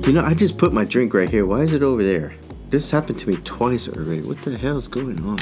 You know, I just put my drink right here. Why is it over there? This happened to me twice already. What the hell is going on?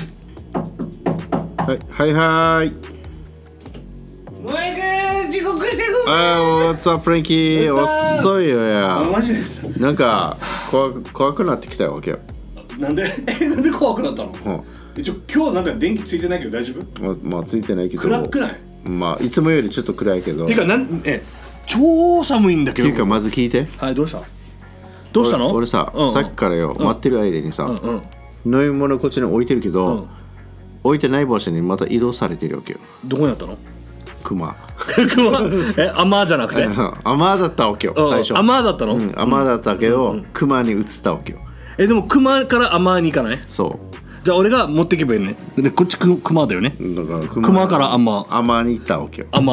Hi, hi. お前が遅刻してる。 What's up, Frankie? 遅いよや。 マジです。 なんか怖くなってきたわけよ。 なんで怖くなったの？今日なんか電気ついてないけど大丈夫？ まあついてないけど。 暗くない？ まあいつもよりちょっと暗いけど。 てか超寒いんだけど。 ていうかまず聞いて。 はい、どうしたの？ 俺さ、さっきからよ、待ってる間にさ、飲み物こっちに置いてるけど、置いてない場所にまた移動されてるわけよ。 どこにあったの？ クマ。 アマじゃなくて？ アマだったわけよ、最初。 アマだったの？ アマだったけど、クマに移ったわけよ。 でもクマからアマに行かない？ そう。 じゃあ俺が持ってけばいいね。でこっちクマだよね。 だからクマからアマに行ったわけよ。 From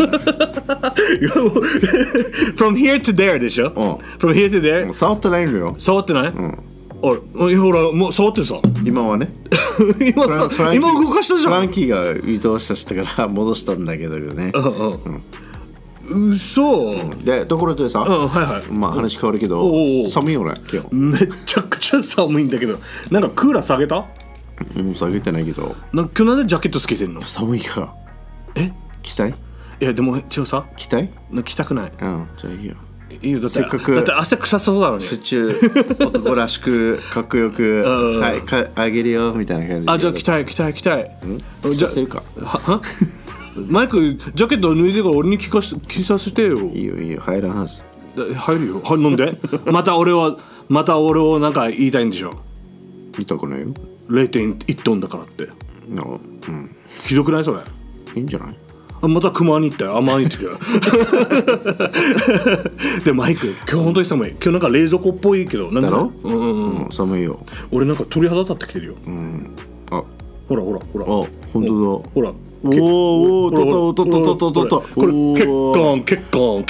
here to there でしょ？ From here to there 触ってないのよ。 触ってない？ほらもう触ってるさ。今はね。 今動かしたじゃん。 フランキーが移動させたから戻したんだけどね。 嘘。 でところでさ、まあ話変わるけど、寒いよね今日。 めちゃくちゃ寒いんだけど、なんかクーラー下げた？ 下げてないけど。 今日なんでジャケットつけてんの？ 寒いから。着たい？ いやでもさ、 着たい？ 着たくない。 じゃあいいよ。 いいよ、だってせっかくだって汗臭そうだのに。 シチュー男らしくかっこよくはいあげるよみたいな感じで。 じゃあ着たい。じゃあせるか。 はマイクジャケット脱いでから俺に着させてよ。 いいよ入らんはず。 入るよ。なんで？また俺をなんか言いたいんでしょ。 言ったくないよ。 0.1 トンだからって。ひどくないそれ？ いいんじゃない？ またクマに行ったよ。アマに行ってくよ。でマイク今日本当に寒い。今日なんか冷蔵庫っぽいけどなんだろう？ 寒いよ。 俺なんか鳥肌立ってきてるよ。ほら。 本当だ。 ほら。 おおとこれ血管。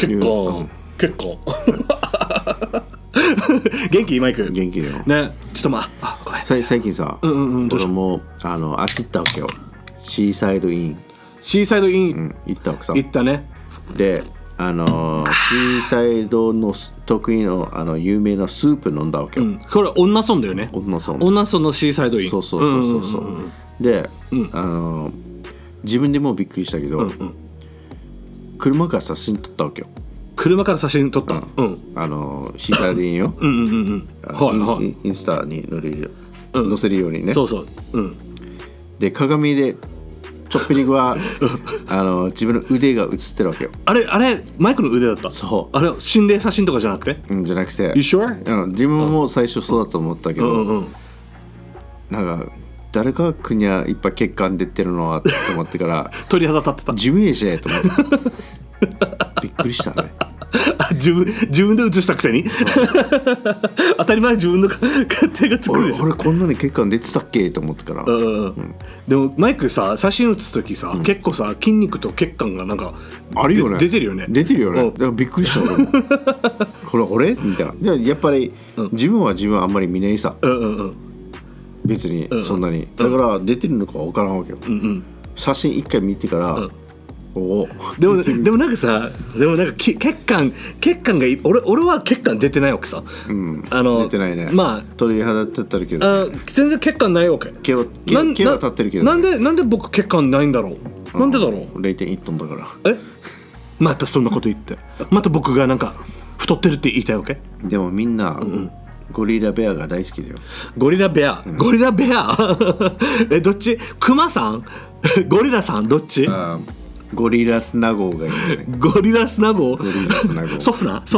元気マイク？ 元気よ。 ね、ちょっとごめん。 最近さ、俺もあっち行ったわけよ。シーサイドイン行ったわけさ。 行ったね。 でシーサイドの得意の有名なスープ飲んだわけよ。 これ女村だよね。 女村のシーサイドイン。 そう。で自分でもびっくりしたけど、車から写真撮ったわけよ。 車から写真撮った。 シーサイドインよ。インスタに載せるようにね。 そう。 で鏡でちょっぴりは自分の腕が映ってるわけよ。あれマイクの腕だった。 そう。 あれ心霊写真とかじゃなくて？ じゃなくて。 You sure？ 自分も最初そうだと思ったけど、なんか誰か国はいっぱい血管出てるのはと思ってから鳥肌立ってた。 自分やしと思ってびっくりしたね。 自分で映したくせに当たり前自分の手がつくでしょ。 俺こんなに血管出てたっけと思ってから。 でもマイクさ写真写す時さ、結構さ筋肉と血管がなんかあるよね。 出てるよね。 だからびっくりした俺もこれ俺みたいな。じゃあやっぱり自分はあんまり見ないさ。別にそんなにだから出てるのか分からんわけよ。写真一回見てからでもなんかさ血管が俺は血管出てないわけさ。 出てないね。鳥肌立ってるけど全然血管ないわけ。 毛は立ってるけど。 なんで僕血管ないんだろう。なんでだろう。 0.1 トンだから。 またそんなこと言ってまた僕がなんか太ってるって言いたいわけ。 でもみんなゴリラベアが大好きだよ。 ゴリラベアどっち？クマさんゴリラさんどっち？ ゴリラスナゴがいいんじゃない？ ゴリラスナゴソフナ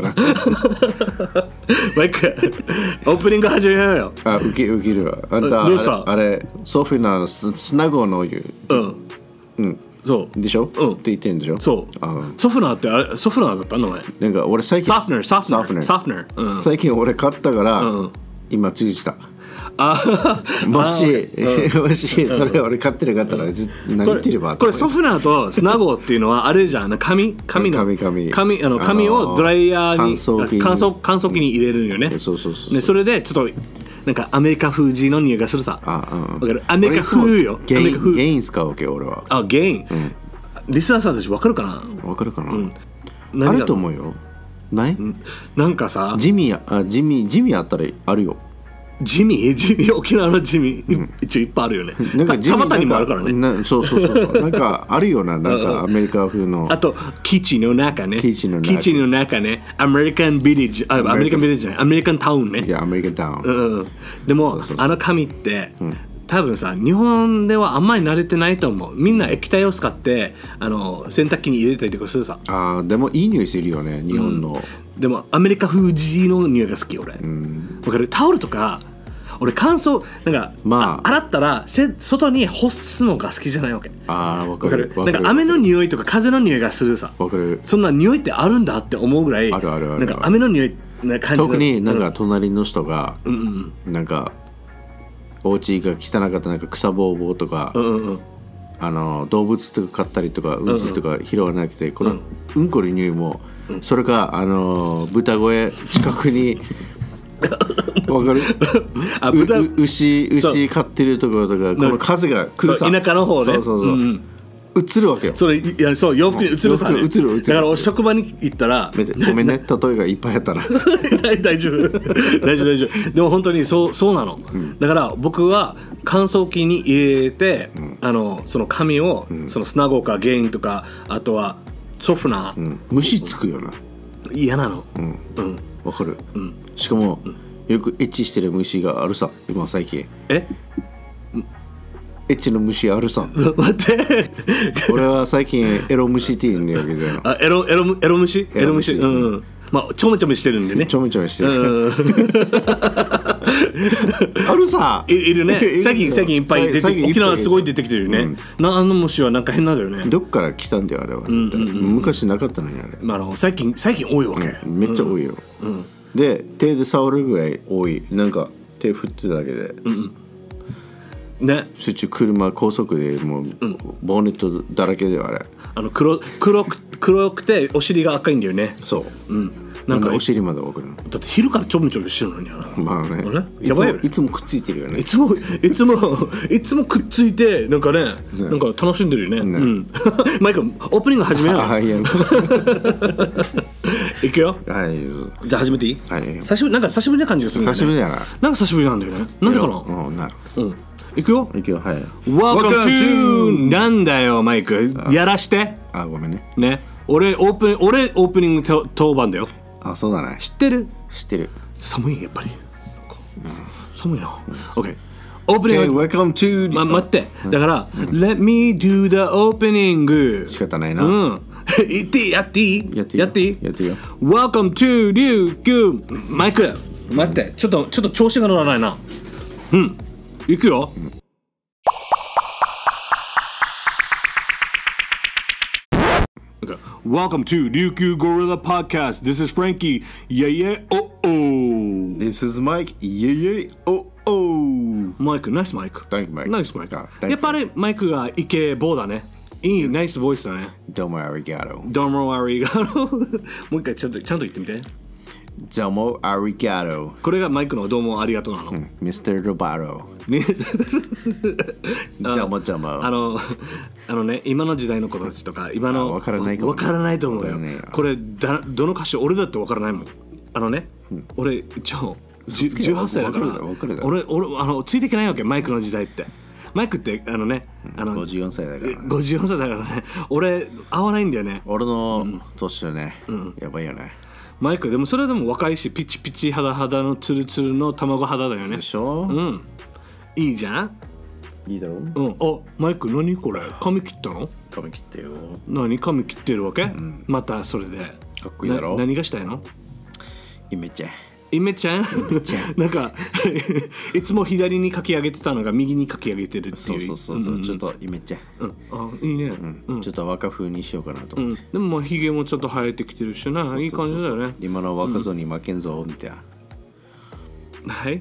マイクオープニング始めようよ。 ウケるわ。あんたあれソフナのスナゴの言う。そうでしょ？って言ってるんでしょ？ そう。ソフナってあれソフナだったの前。 なんか俺最近ソフナー。 最近俺買ったから今注意した。もしそれ俺買ってる方は何言ってれば。 これソフナーとスナゴっていうのはあれじゃん。紙をドライヤーに乾燥機に入れるよね。 そうそれでちょっとなんかアメリカ風地の匂いがするさ。アメリカ風よ。 ゲイン使うわけよ俺は。 ゲイン。リスナーさんたち分かるかな？ あると思うよ。 ない？ なんかさ、 ジミーあったらあるよ。 ジミー沖縄のジミー、一応いっぱいあるよね。 なんか蒲田にもあるからね。 そうなんかあるよな、なんかアメリカ風の。 あと基地の中ね。 基地の中ね。アメリカンビレッジ、アメリカンビレッジじゃない、アメリカンタウンね。 じゃあアメリカンタウン。 でもあの紙って。多分さ、日本ではあんまり慣れてないと思う。みんな液体を使って洗濯機に入れたりとかするさ。 でもいい匂いするよね、日本の。 でもアメリカ風地の匂いが好き俺。わかる？タオルとか俺乾燥なんか、洗ったら外に干すのが好きじゃないわけ。 わかる。 なんか雨の匂いとか風の匂いがするさ。 わかる。 そんな匂いってあるんだって思うぐらい。 ある。 なんか雨の匂いな感じ。 特になんか隣の人がなんかお家が汚かったなんか草ぼうぼうとか、動物とか飼ったりとかうんちとか拾わなくて、このうんこの匂いも、それか豚小屋近くにわかる？牛飼ってるところとか、この風が来るさ、 田舎の方で映るわけよ。 そう洋服に映るさね。 映る。 だから職場に行ったらごめんね、例えがいっぱいあったら大丈夫。でも本当にそうなの。だから僕は乾燥機に入れて、その紙をそのスナゴかゲインとか、あとはソフナー、 虫つくよな。 嫌なの。 わかる。しかもよくエッチしてる虫があるさ、今最近。エッチの虫あるさ。 待って俺は最近エロ虫って言うんだよけど。 エロ虫。まあちょめちょめしてるんでね。 ちょめちょめしてる。あるさ。 いるね。最近いっぱい出て、沖縄すごい出てきてるよね。あの虫はなんか変なんだよね。 どっから来たんだよあれは。昔なかったのにあれ。 最近多いわけ。 めっちゃ多いよ。で手で触るぐらい多い。なんか手振ってただけで。 ね、 集中高速でもう、ボンネットだらけであれ。 黒くてお尻が赤いんだよね。 そう。なんかお尻まで送るの。 だって昼からちょめちょめしてるのにまあね。 やばいよね。 いつもくっついてるよね。 いつもくっついてなんかね、なんか楽しんでるよね。マイクオープニング始めよう。いくよ。じゃあ始めていい？久しぶりな感じがする。 久しぶりだな。 なんか久しぶりなんだよね。なんでかな。いくよ。 はい。 Welcome to なんだよマイク。やらして。 ごめんね。 ね。俺オープニング当番だよ。 そうだね。 知ってる。寒いやっぱり。寒いな。OK。オープニング。 Welcome to。 待って。だから Let me do the opening。 仕方ないな。 やっていい？ Welcome to 琉球。マイク。待って。ちょっと調子が乗らないな。いくよ。Welcome to 琉球 Gorilla Podcast. This is Frankie. Yeah. Oh. This is Mike. Yeah. Oh. マイク、ナイスマイク。 Thank you, Mike. ナイスマイク。やっぱりマイクがイケボーだね。いいナイスボイスだね。 どうもありがとう。 もう一回ちゃんと言ってみて。 どうもありがとう。 これがマイクのどうもありがとうなの。 Mr. Roboto。どうも。 ね、今の時代の子たちとか今のわからないと思うよ。これどの歌詞俺だってわからないもん。俺18歳だから俺ついていけないわけ。マイクの時代ってマイクって 54歳だからね。 54歳だからね。俺合わないんだよね。 俺の年はね、やばいよね。 マイクでもそれでも若いしピチピチ肌のツルツルの卵肌だよね。 でしょ。 いいじゃん。 いいだろう。 マイク何これ？髪切ったの？ 髪切ってよ。 何髪切ってるわけ？またそれでかっこいいだろ。 何がしたいの？ イメちゃんなんかいつも左にかき上げてたのが右にかき上げてるっていう。 そうちょっとイメちゃん。 いいね。 ちょっと若風にしようかなと思って。 でもヒゲもちょっと生えてきてるしな。いい感じだよね。 今の若造に負けんぞみたいな。はい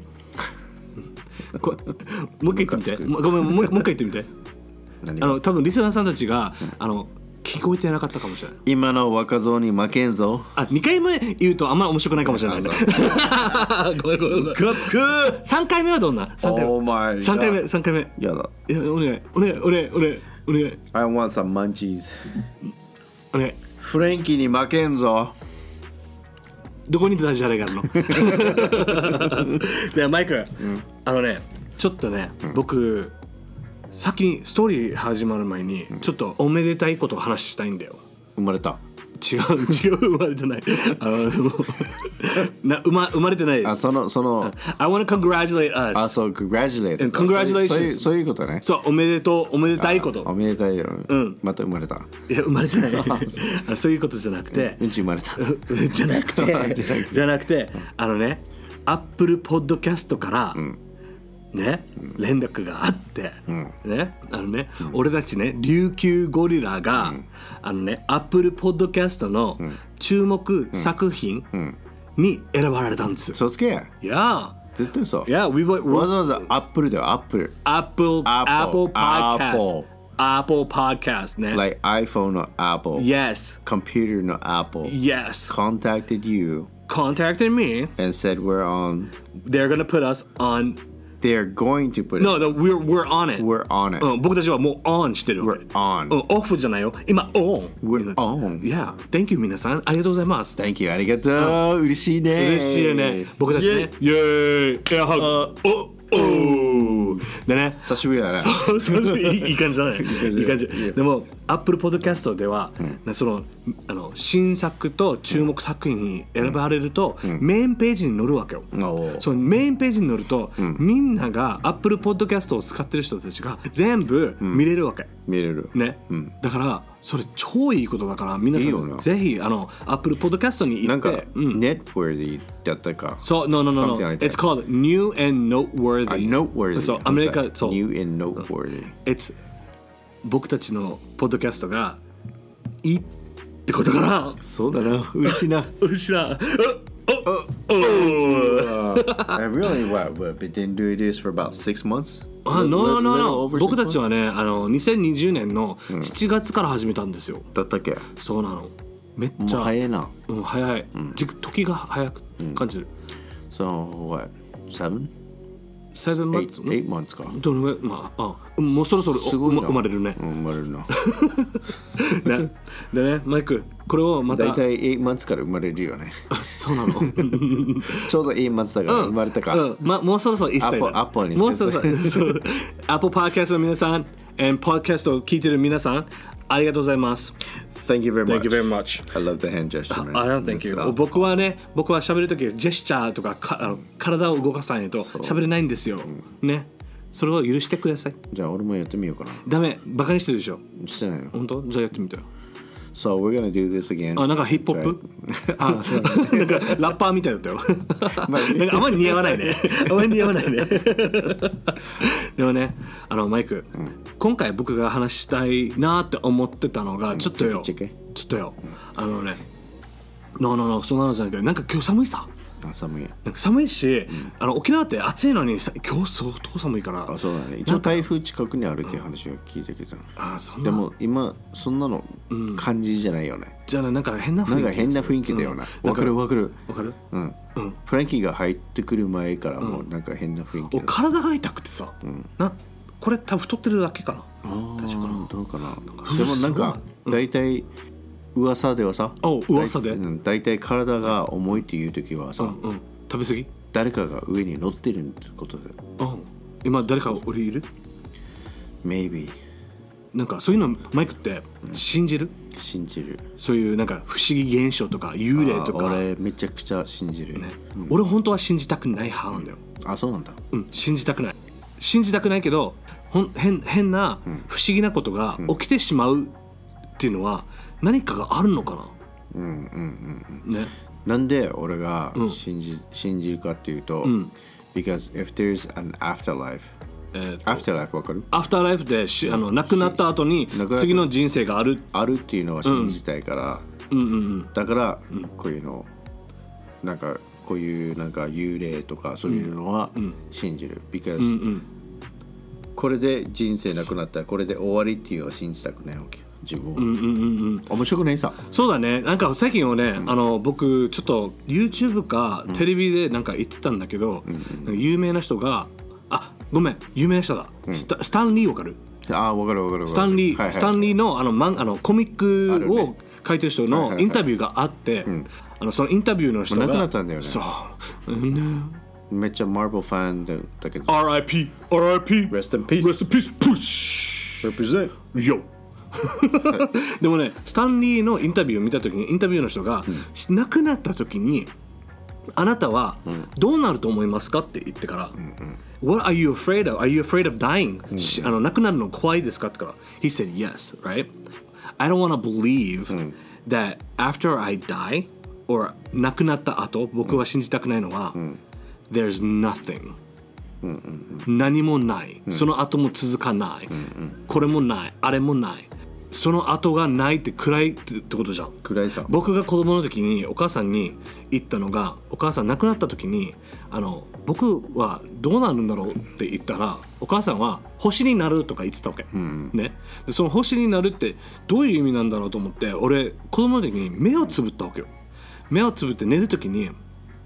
もう一回言ってみて。ごめん、もう一回言ってみて。多分リスナーさんたちが聞こえてなかったかもしれない。 今の若造に負けんぞ。 2回目言うとあんまり面白くないかもしれないね。ごめん。3回目はどんな？3回目。 やだ。 お願い。 I want some munchies。 お願い。 フレンキーに負けんぞ。 どこにダジャレがあるのでマイク、ちょっとね、僕先にストーリー始まる前にちょっとおめでたいことを話したいんだよ。 生まれた？ 違う生まれてない生まれてないです。 その I want to congratulate us。 そう congratulate congratulations。 そういうことね。 そうおめでとう、おめでたいこと。 おめでたいよ。また生まれた？ いや生まれてないそういうことじゃなくて、 うんち生まれたじゃなくてApple Podcast から、ね、連絡があって、ね、俺たちね、琉球ゴリラが、Apple Podcast の注目作品に選ばれたんですよ。 そうつけ。 いや絶対そう。 いや、 わざわざ Apple だよ、Apple Podcast ね。 Like iPhone の Apple。 Yes。 Computer の Apple。 Yes。 Contacted you。 Contacted me。 And said we're on。 They're gonna put us on。They're going to put it. No, we're on it. We're on it. 僕たちはもう on してる。 We're on. オフじゃないよ。今 on. We're on. Yeah. Thank you 皆さん。ありがとうございます。 Thank you. ありがとう。嬉しいね。 嬉しいよね。僕たちね。イェーイ。エアハグ。でね、 久しぶりだね。 いい感じだね。いい感じ。でも Apple Podcast では、その新作と注目作品に選ばれると、メインページに載るわけよ。そのメインページに載ると、みんなが Apple Podcast を使ってる人たちが全部見れるわけ。 見れる。 ね。だからそれ超いいことだから、皆さんぜひApple Podcast に行って。 なんか Networthy だったか。 そう、no. It's called New and Noteworthy。 Noteworthy。 そう、アメリカ、そう。 New and Noteworthy。 僕たちのポッドキャストがいいってことかな。 そうだな。嬉しいな。 嬉しいな。 Really? What? But didn't do this for about 6 months? No. 僕たちはね、2020年の7月から始めたんですよ。 だったっけ？ そうなの。めっちゃ早いな。 早い。時が早く感じる。 So what? 7 months? 8 months か。 どのぐらい、まあ、もうそろそろ生まれるね。 生まれるな。 ね。でね、マイク、これをまた。 だいたい8 months から生まれるよね。 そうなの。 ちょうど8 months だから生まれたか。 もうそろそろ1歳だ。 Apple に。 もうそろそろ。Apple Podcast の皆さん、Podcast を聞いてる皆さん、ありがとうございます。 Thank you very much. Thank you very much. I love the hand gesture, man. Thank you. 僕は喋るときジェスチャーとか体を動かさないと喋れないんですよ。ね。それを許してください。 じゃあ俺もやってみようかな。 ダメ。バカにしてるでしょ。 してないの。 本当？じゃあやってみてよ。 So we're gonna do this again. なんかヒップホップ？そうなんかラッパーみたいだったよ。なんかあんまり似合わないね。でもね、マイク、今回僕が話したいなって思ってたのがちょっとよ。No そんなのじゃなくて、なんか今日寒いさ。寒いし、沖縄って暑いのに今日相当寒いから。 そうだね。一応台風近くにあるっていう話を聞いたけど。でも今そんなの感じじゃないよね。 じゃあなんか変な雰囲気だよな。わかる。 うん。 フランキーが入ってくる前からもうなんか変な雰囲気。 体が痛くてさ。これ多分太ってるだけかな。 どうかな。でもなんか大体噂ではさ、大体体が重いっていう時はさ、 食べ過ぎ？ 誰かが上に乗ってるってことだよ。 今誰か俺いる？ Maybe。 なんかそういうのマイクって信じる？そういうなんか不思議現象とか幽霊とか。 俺めちゃくちゃ信じる。 俺本当は信じたくない派なんだよ。 そうなんだ。 信じたくないけど変な不思議なことが起きてしまうっていうのは何かがあるのかな。ね。 なんで俺が信じるかっていうと、because if there's an afterlife、afterlife わかる？ アフターライフで亡くなった後に次の人生があるっていうのは信じたいから、だからこういうのなんかこういうなんか幽霊とかそういうのは信じる。because これで人生なくなったらこれで終わりっていうのは信じたくないわけよ。自分は面白くないさ。そうだね。 なんか最近はね、僕ちょっと YouTube かテレビでなんか言ってたんだけど、有名な人が有名な人だ。スタンリーわかる？ わかる。 スタンリーのコミックを書いてる人のインタビューがあって、そのインタビューの人が亡くなったんだよね。 そう、 めっちゃマーベルファンだけど RIP RIP Rest in peace Rest in peace Push Represent Yo でもね、スタンリーのインタビューを見た時にインタビューの人が、亡くなった時にあなたはどうなると思いますかって言ってから、What are you afraid of? Are you afraid of dying? 亡くなるの怖いですかってから He said yes, right? I don't want to believe that after I die or 亡くなった後、僕は信じたくないのは、There's nothing、何もない、その後も続かない、これもない、あれもない、その後がないって暗いってことじゃん。 暗いさ。 僕が子供の時にお母さんに言ったのが、お母さん亡くなった時に僕はどうなるんだろうって言ったら、お母さんは星になるとか言ってたわけ、ね、でその星になるってどういう意味なんだろうと思って、俺子供の時に目をつぶったわけよ。目をつぶって寝る時に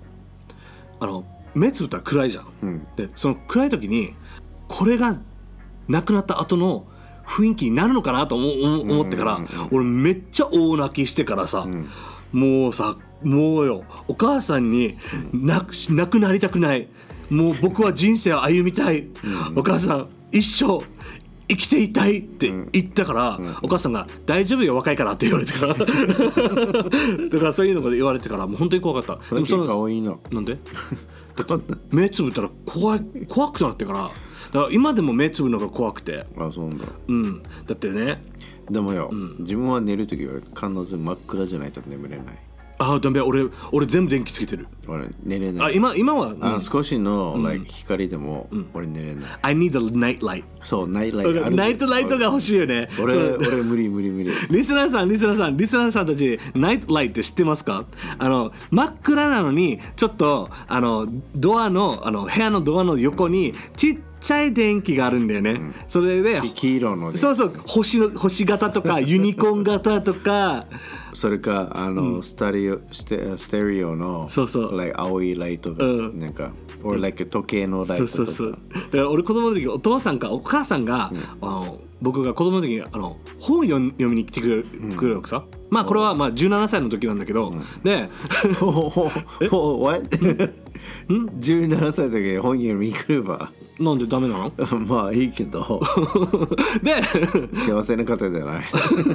目つぶったら暗いじゃん、でその暗い時にこれが亡くなった後の雰囲気になるのかなと思ってから、俺めっちゃ大泣きしてからさ、もうよ、お母さんに亡くなりたくない、もう僕は人生を歩みたい、お母さん一生生きていたいって言ったから、お母さんが大丈夫よ若いからって言われてからだからそういうのが言われてからもう本当に怖かった。 でもその顔いいな。 なんで目つぶったら怖くなってから、だから今でも目つぶるのが怖くて。 あ、そうなんだ。 だってね、 でもよ、自分は寝るときは必ず真っ暗じゃないと眠れない。 あ、ダメ、俺全部電気つけてる。 俺寝れない。 今は、 少しの、光でも、俺寝れない。 I need a night light。 そう、ナイトライト。 ナイトライトが欲しいよね。 俺無理。 リスナーさんたち、ナイトライトって知ってますか？真っ暗なのにちょっとドアの部屋のドアの横にちっちゃい電気があるんだよね。それで黄色の、 そう星型とかユニコーン型とか。 それかステレオの青いライトがなんか時計のライトとか。 そうだから俺子供の時お父さんかお母さんが僕が子供の時に本読みに来てくれるわけさ。まあこれは17歳の時なんだけど、で What? 17歳の時に本読みに来ればなんでダメなの？ まあいいけどで幸せな方じゃない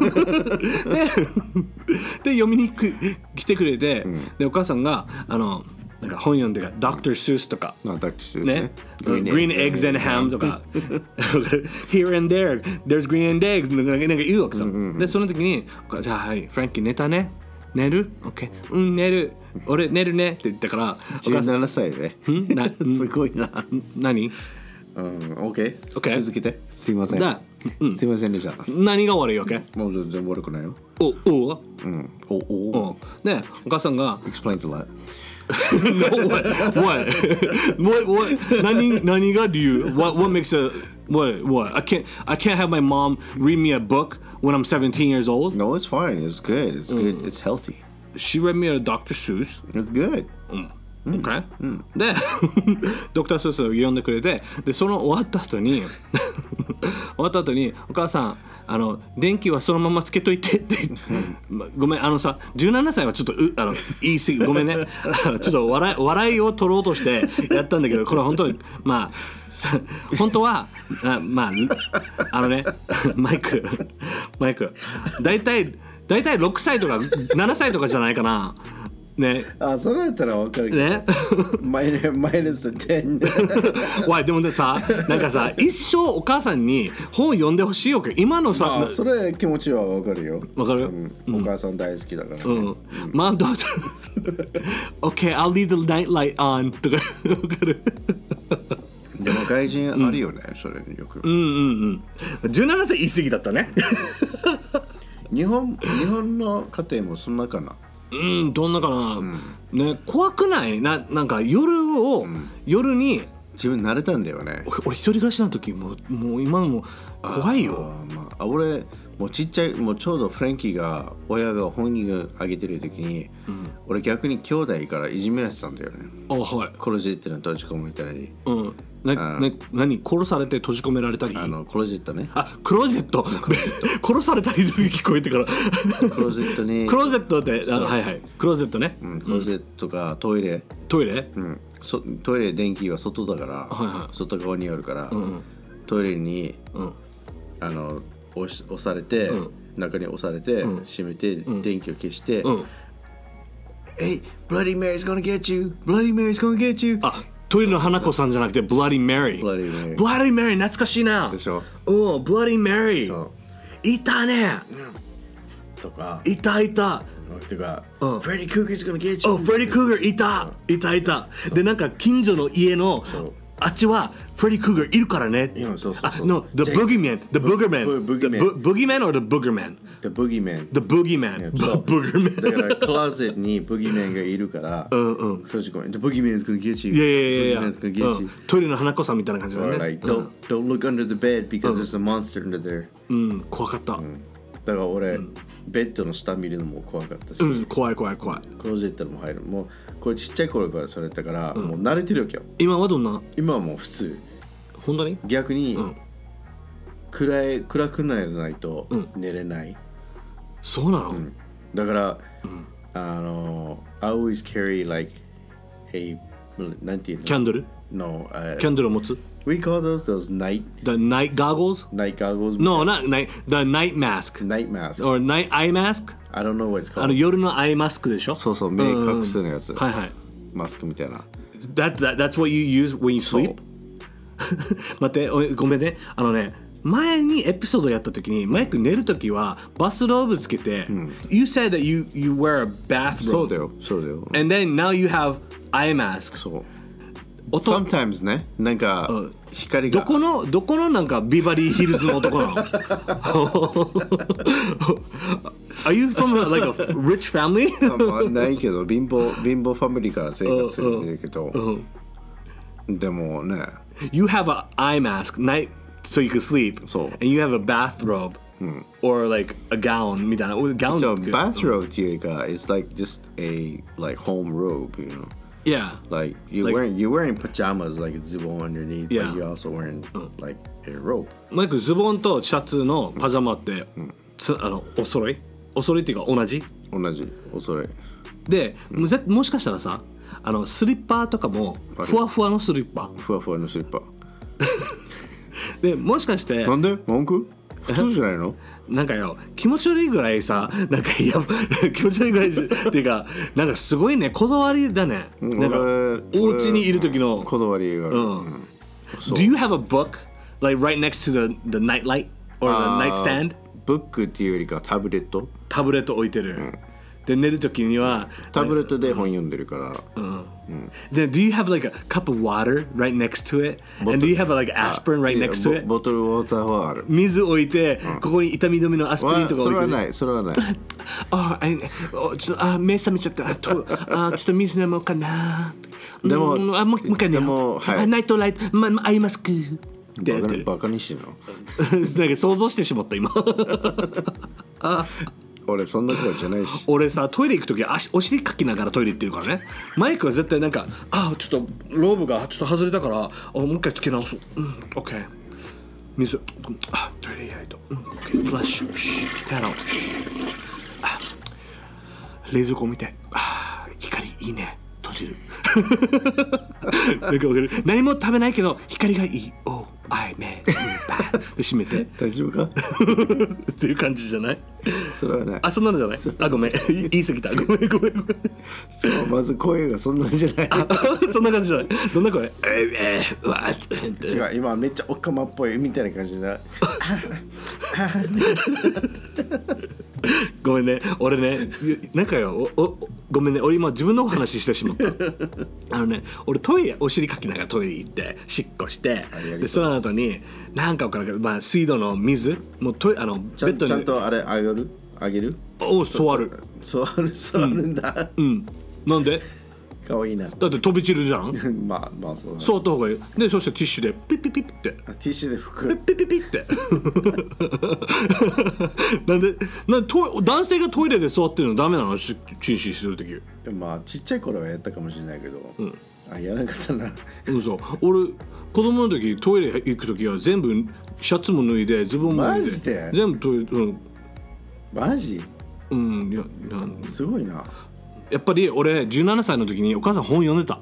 で読みに来てくれて、でお母さんがなんか本読んでからDr. Seussとかね、Green Eggs and Ham とかHere and there There's Green and Eggs なんか言うわけさ。でその時にじゃあはいフランキー寝たね、寝る OK 寝る、俺寝るねって言ったから 17歳ですごいな。 何 OK 続けて。すいませんすいませんでした。 何が悪いわけ？ もう全然悪くないよ。 でお母さんが Explains a lot No, what? 何が理由？ What makes a what? I can't have my mom read me a book when I'm 17 years old. No, it's fine. It's good. It's good. It's healthy. She read me a Dr. Seuss. It's good. Okay. でドクター・スースを読んでくれて、でその終わった後にお母さん電気はそのままつけといてってごめんさ17歳はちょっと言い過ぎごめんねちょっと笑いを取ろうとしてやったんだけど、これは本当に本当はマイクだいたい6歳とか7歳とかじゃないかな。ね、 それだったら分かるけどねマイナス10 わいでもさなんかさ一生お母さんに本読んでほしいわけ今のさ、 それ気持ちは分かるよ。 分かる、 お母さん大好きだから、 まあどうぞOK I'll leave the night light on とか分かるでも外人あるよね、それよく。 17歳言い過ぎだったね日本の家庭もそんなかな。 どんなかな、ね、怖くない？なんか夜に自分慣れたんだよね。 俺一人暮らしの時もう今も怖いよ。 俺もうちっちゃい、もうちょうどフレンキーが親が本人あげてる時に、俺逆に兄弟からいじめられてたんだよね。 はい。 クローゼットに閉じ込めたり、 何殺されて閉じ込められたり、 クローゼットね。 クローゼット殺されたりと聞こえてからクローゼットにクローゼットってはいクローゼットね、 クローゼットかトイレ、 トイレ、 トイレ電気は外だから、外側にあるから、トイレに、押されて、中に押されて、閉めて、電気を消して、Hey, Bloody Mary's gonna get you! Bloody Mary's gonna get you! トイレの花子さんじゃなくて Bloody Mary。Bloody Mary 懐かしいな。 でしょ。 Bloody Mary。いたね。 とか。 いた。 とか、Freddy Krueger's gonna get you! Freddy Krueger いた。でなんか近所の家のあっちはフレディ・クーガーいるからね。 そう。 No, the boogeyman, the boogerman. Boogeyman or the boogerman? The boogeyman. The boogeyman. Boogerman. だからクローゼットにブギーメンがいるから、閉じ込めて、The boogeyman's gonna get you. Yeah. Boogeyman's gonna get you. トイレの花子さんみたいな感じだね。 Or like, don't look under the bed because there's a monster under there. 怖かった。 だから俺、ベッドの下見るのも怖かったし、 怖い。 クローゼットも入る。もうこれちっちゃい頃からそれだったから、もう慣れてるわけよ。 今はどんな？ 今はもう普通。 本当に？ 逆に、暗くならないと寝れない。 そうなの？ だから、I always carry like a なんていうの？ キャンドル？ No. キャンドルを持つ ？We call those night. The night goggles? Night goggles? No, not night. The night mask. Night mask. Or night eye mask? I don't know what it's called. 夜のアイマスクでしょ？ そう、目隠すのやつ。 はい。 マスクみたいな。 That's what you use when you sleep? 待って、ごめんね。前にエピソードやった時にマイク寝る時はバスローブつけて、You said that you wear a bathrobe. そうだよ。 And then now you have eye mask. そう。Sometimes ね、なんか光がどこのなんかビバリーヒルズの男なの？Are you from like a rich family? ないけど貧乏ファミリーから生活するんだけど、でもね。 You have an eye mask night so you can sleep. そう。 And you have a bathrobe or like a gown みたいな。 gown じゃあ bathrobe っていうよりか it's like just a like home robe, you know.Yeah, like you're wearing pajamas like a zibon underneath, but you're also wearing like a robe. マイクズボンとシャツのパジャマってお揃いっていうか同じお揃いで、もしかしたらさスリッパとかもふわふわのスリッパでもしかしてなんで文句普通じゃないのなんかよ気持ち悪いぐらいさなんか気持ち悪いぐらいっていうかなんかすごいねこだわりだねなんかお家にいる時のこだわりが Do you have a book like right next to the night light or the nightstand? ブックっていうよりかタブレット置いてる、で寝る時にはタブレットで本読んでるから、 で Do you have like a cup of water right next to it? And do you have like aspirin right next to it? ボトルウォーターはある。 水置いて、ここに痛み止めのアスピリンとか置いてる。 それはないちょっと目覚めちゃったちょっと水飲もうかな。 でももう一回ねナイトライトアイマスクってやってる。 バカにしてるのなんか想像してしまった今俺そんな声じゃないし。 俺さトイレ行く時お尻かきながらトイレ行ってるからね。マイクは絶対なんかちょっとローブがちょっと外れたからもう一回つけ直そう。OK 水トイレやりとOK フラッシュ手洗おう。冷蔵庫見て光いいね閉じるなんかわかる。何も食べないけど光がいい。I made bad で閉めて大丈夫かっていう感じじゃない？ それはない。 そんなのじゃない。ごめん言い過ぎた。ごめんそうまず声がそんなんじゃないそんな感じじゃない。どんな声？ 違う今めっちゃおかまっぽいみたいな感じだごめんね俺ねなんかよごめんね俺今自分のお話してしまった俺トイレお尻かきながらトイレ行ってしっこしてでその後になんか分からんけど、水道の水もうベッドにちゃんとあれあげる座るんだなんでかわいいな。 だって飛び散るじゃんまあそうだ、ね。 そうやった方がいい。でそしてティッシュでピッピッピッって、 ティッシュで拭く。 ピッピッピッってなんで男性がトイレで座ってるのダメなの？チンシするとき。 まあちっちゃい頃はやったかもしれないけど、やらなかったな。 嘘。俺子供の時トイレ行く時は全部シャツも脱いでズボンも脱いでマジで全部トイレ、 マジ？ いやすごいな。 やっぱり俺17歳の時にお母さん本読んでた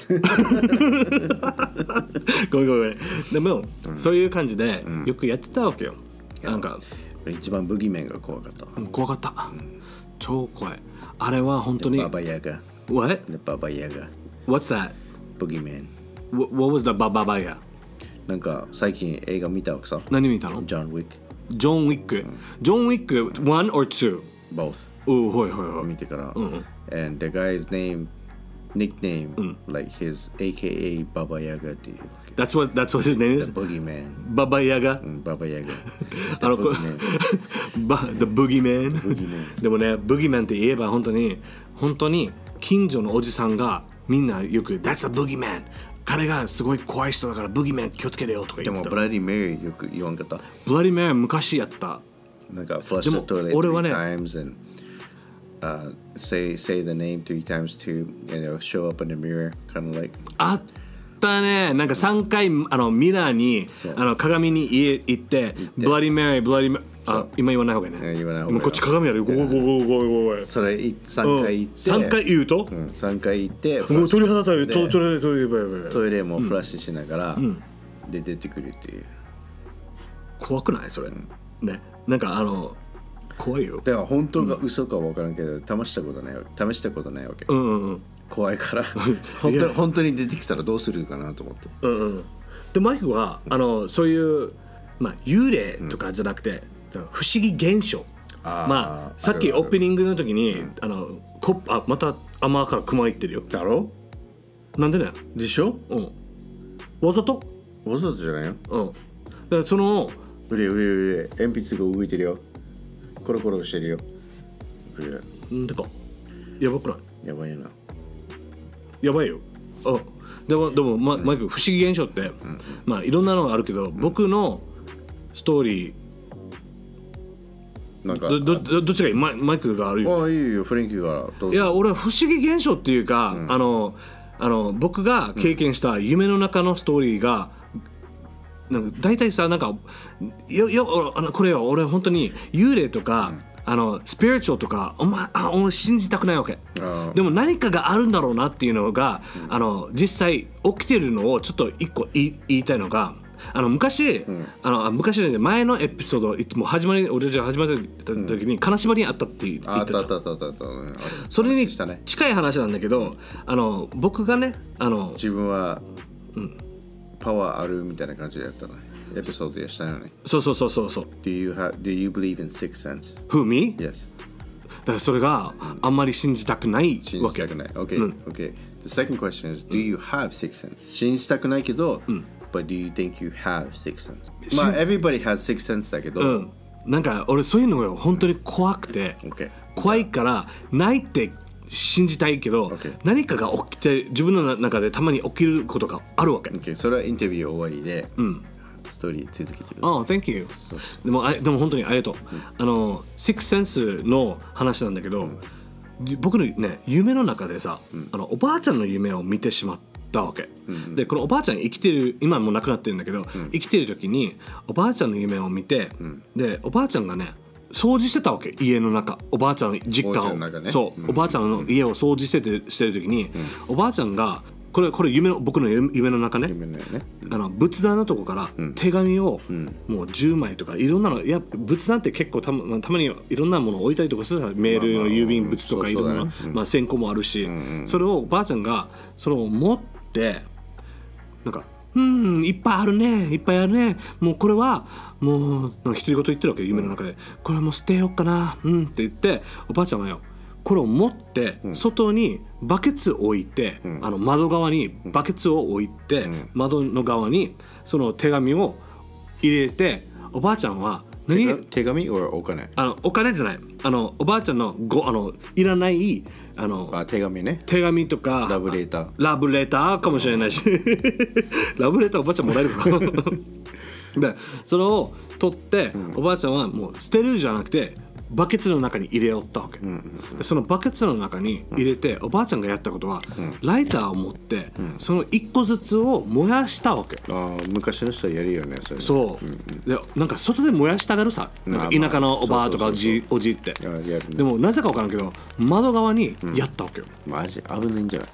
ごめんでも、そういう感じでよくやってたわけよ。なんか一番ブギメンが怖かった。 怖かった、超怖い。あれは本当にババヤガ。 What? The Baba Yaga. What's that? Boogeyman. What was the Baba Yaga? なんか最近映画見たわけさ。 何見たの？ ジョン・ウィック。 ジョン・ウィック。ジョン・ウィック 1 or 2? Both. はい見てから。And the guy's nickname, like his AKA Baba Yaga っていう。 That's what his name is? The Boogeyman. Baba Yaga? Baba Yaga. The Boogeyman. The Boogeyman. でもね、Boogeyman って言えば本当に近所のおじさんがみんなよく That's a Boogeyman。彼がすごい怖い人だからブギーマン気をつけてよとか言ってた。 でもブラディ・メリーよく言わんかった。 ブラディ・メリー昔やった。 なんか flush the toilet 3 times and say the name 3 times too and it'll show up in the mirror kind of like あったね。なんか3回ミラーに鏡に行ってブラディ・メリー今言わない方がいいね。 言わない方がいい。 こっち鏡あるよ。ごそれ3回言って 3回言うと 3回言ってもう鳥肌立る。 トイレもフラッシュしながらで出てくるっていう。 怖くないそれね。なんか怖いよ。 だから本当か嘘か分からんけど試したことないわけ。怖いから本当に出てきたらどうするかなと思って。 でマイクはそういう幽霊とかじゃなくて不思議現象。さっきオープニングの時にまた甘から熊言ってるよ。 だろ？ なんでね？ でしょ？ わざとじゃないよ。 だからうれ鉛筆が動いてるよ。コロコロしてるよ。 なんでかやばくない？ やばいよな。 やばいよ。でもマイク不思議現象っていろんなのがあるけど僕のストーリーなんかどっちがいい？マイクがあるよ。 いいよフレンキーがどうぞ。 いや俺は不思議現象っていうか僕が経験した夢の中のストーリーがなんか大体さなんかこれは俺本当に幽霊とかスピリチュアルとか俺信じたくないわけ。でも何かがあるんだろうなっていうのが実際起きてるのをちょっと一個言いたいのが昔前のエピソード俺じゃ始まった時に金縛りにあったって言ったじゃん。それに近い話なんだけど僕がね自分はパワーあるみたいな感じでやったのエピソードでしたよね。 そう。 Do you believe in sixth sense? Who, me? Yes. だからそれがあんまり信じたくないわけ。 Okay. The second question is, do you have sixth sense? 信じたくないけど、but do you think you have sixth sense? Everybody has sixth sense だけど、 なんか俺そういうのが本当に怖くて、怖いからないって信じたいけど、何かが起きて自分の中でたまに起きることがあるわけ。 それはインタビュー終わりで、ストーリー続けてる。 Thank you。でも本当にありがとう。シックスセンスの話なんだけど、僕のね夢の中でさ、おばあちゃんの夢を見てしまったわけ。でこのおばあちゃん生きてる今もう亡くなってるんだけど、生きてる時におばあちゃんの夢を見て、でおばあちゃんがね掃除してたわけ家の中。おばあちゃんの実家を、おばあちゃんの家を掃除してる時に、おばあちゃんがこれ僕の夢の中ね、仏壇のとこから手紙をもう10枚とかいろんなの、仏壇って結構たまにいろんなものを置いたりとかするさ、メールの郵便物とかいろんな線香もあるし、それをおばあちゃんがそれを持ってなんかいっぱいあるねいっぱいあるね、もうこれはもう独り言言ってるわけ夢の中で、これはもう捨てようかなって言って、おばあちゃんはよこれを持って外にバケツを置いて、窓側にバケツを置いて、窓の側にその手紙を入れて、おばあちゃんは手紙お金？ お金じゃない。おばあちゃんのいらない手紙ね。 手紙とかラブレターかもしれないしラブレターおばあちゃんもらえるかなでそれを取って、おばあちゃんはもう捨てるじゃなくてバケツの中に入れよったわけ、でそのバケツの中に入れて、おばあちゃんがやったことは、ライターを持って、その一個ずつを燃やしたわけ。 昔の人はやるよねそれ。 そう、でなんか外で燃やしたがるさ、なんか田舎のおばあとかおじって。でもなぜか分からんけど窓側にやったわけよ。 マジ危ないんじゃない？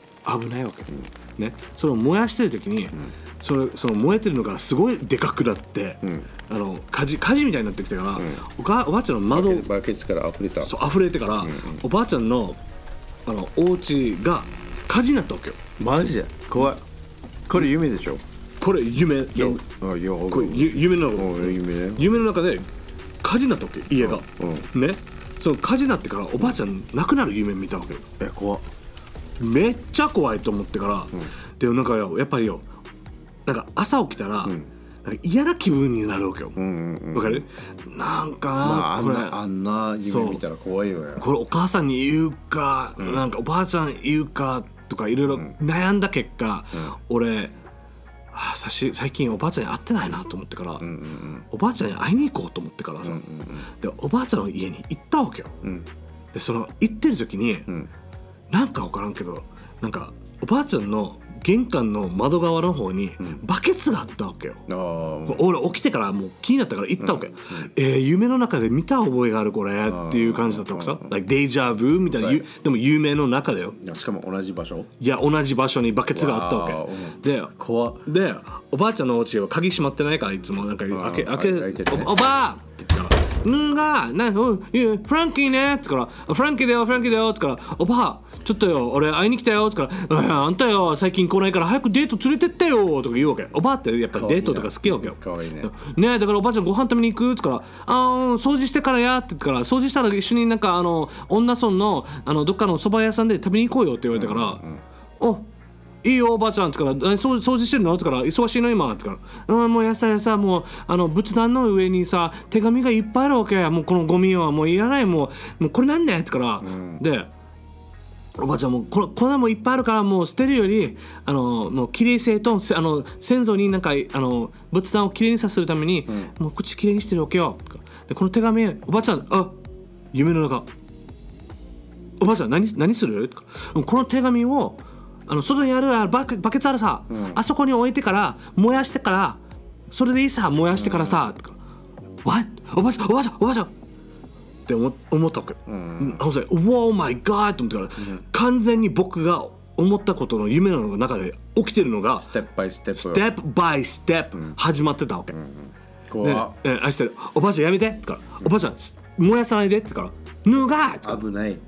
危ないわけ、ね。それを燃やしてる時に、その燃えてるのがすごいでかくなって、火事みたいになってきてから、おばあちゃんの窓バケツから溢れた。 そう溢れてから、おばあちゃんのお家が火事になったわけよ。 マジで怖い。これ夢でしょ？ これ夢。これ夢の中で火事になったわけ、家が、ね。その火事になってからおばあちゃん亡くなる夢見たわけよ。 怖っ。 めっちゃ怖いと思ってから、でもなんかやっぱりよ、なんか朝起きたら、なんか嫌な気分になるわけよ。わかる？なんかこれあんな夢見たら怖いよね。 これお母さんに言うか、なんかおばあちゃん言うかとかいろいろ悩んだ結果、俺最近おばあちゃんに会ってないなと思ってから、おばあちゃんに会いに行こうと思ってからさ、でおばあちゃんの家に行ったわけよ。でその行ってる時に、なんか分からんけど、なんかおばあちゃんの玄関の窓側の方にバケツがあったわけよ。俺起きてからもう気になったから行ったわけ。夢の中で見た覚えがあるこれっていう感じだったわけさ。デイジャブみたいな、でも夢の中だよ。 しかも同じ場所？ いや同じ場所にバケツがあったわけで、でおばあちゃんのお家は鍵閉まってないから、いつもなんか開けおばあって言ったら「ぬがフランキーね」って言ったら「フランキーだよフランキーだよ」って言ったら「おばあちょっとよ俺会いに来たよ」って言ったら「あんたよ最近来ないから早くデート連れてってよ」とか言うわけ。おばあってやっぱりデートとか好きわけよ。 かわいいね。 ね、だからおばあちゃんご飯食べに行くって言ったら「掃除してからや」って言ったから、掃除したら一緒になんか女村のどっかの蕎麦屋さんで食べに行こうよって言われたから「おいいよおばあちゃん」って言ったら「掃除してるの?」って言ったら「忙しいの今」って言ったら「もうやさもう仏壇の上にさ手紙がいっぱいあるわけや。もうこのゴミはもういらない。もうこれなんだよ」って言ったら、でおばあちゃんもこんなもいっぱいあるからもう捨てるよりもうきれい性と先祖になんか仏壇をきれいにさせるために、もう口きれいにしてるわけよ。でこの手紙おばあちゃん夢の中おばあちゃん何する？この手紙を外にあるバケツあるさ、あそこに置いてから燃やしてからそれでいいさ燃やしてからさ、What？ おばあちゃんって思ったわけ。Wow my God と思ってから、完全に僕が思ったことの夢の中で起きてるのがステップバイステップ始まってたわけ。 あしておばあちゃんやめてって言ったら、おばあちゃん燃やさないでって言ったら、脱がー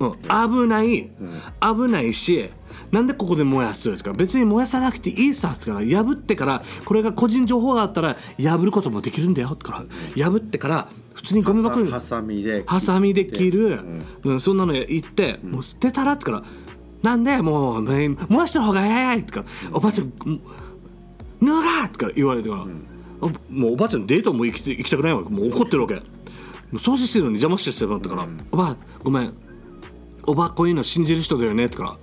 危ないし、なんでここで燃やすって言うから、別に燃やさなくていいさって言うから、破ってからこれが個人情報があったら破ることもできるんだよってから破ってから普通にゴミ箱にハサミで切る、そんなの言って、もう捨てたらってからなんでもう燃やした方が早いってからおばあちゃん脱がってから言われてから、もうおばあちゃんデートも行きたくないわけ。もう怒ってるわけ。掃除してるのに邪魔してもらったから、おばあごめんおばあこういうの信じる人だよねってから、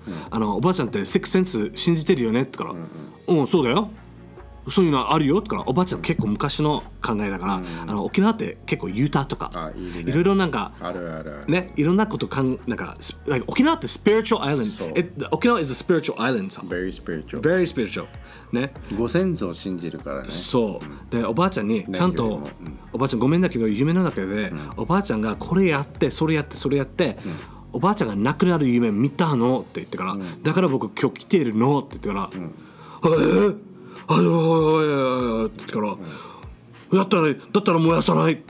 おばあちゃんってセックスセンス信じてるよねってから、そうだよそういうのあるよってから、おばあちゃん結構昔の考えだから、沖縄って結構ユータとかいろいろなんかね、いろんなことなんか沖縄ってスピリチュアルアイランド。沖縄 is a spiritual island very spiritual ね、 ご先祖を信じるからね。 そうでおばあちゃんにちゃんと、おばあちゃんごめんだけど夢の中で、おばあちゃんがこれやってそれやって、おばあちゃんが亡くなる夢見たのって言ってから、だから僕今日来てるのって言ってから、って言ってからだったら燃やさないって、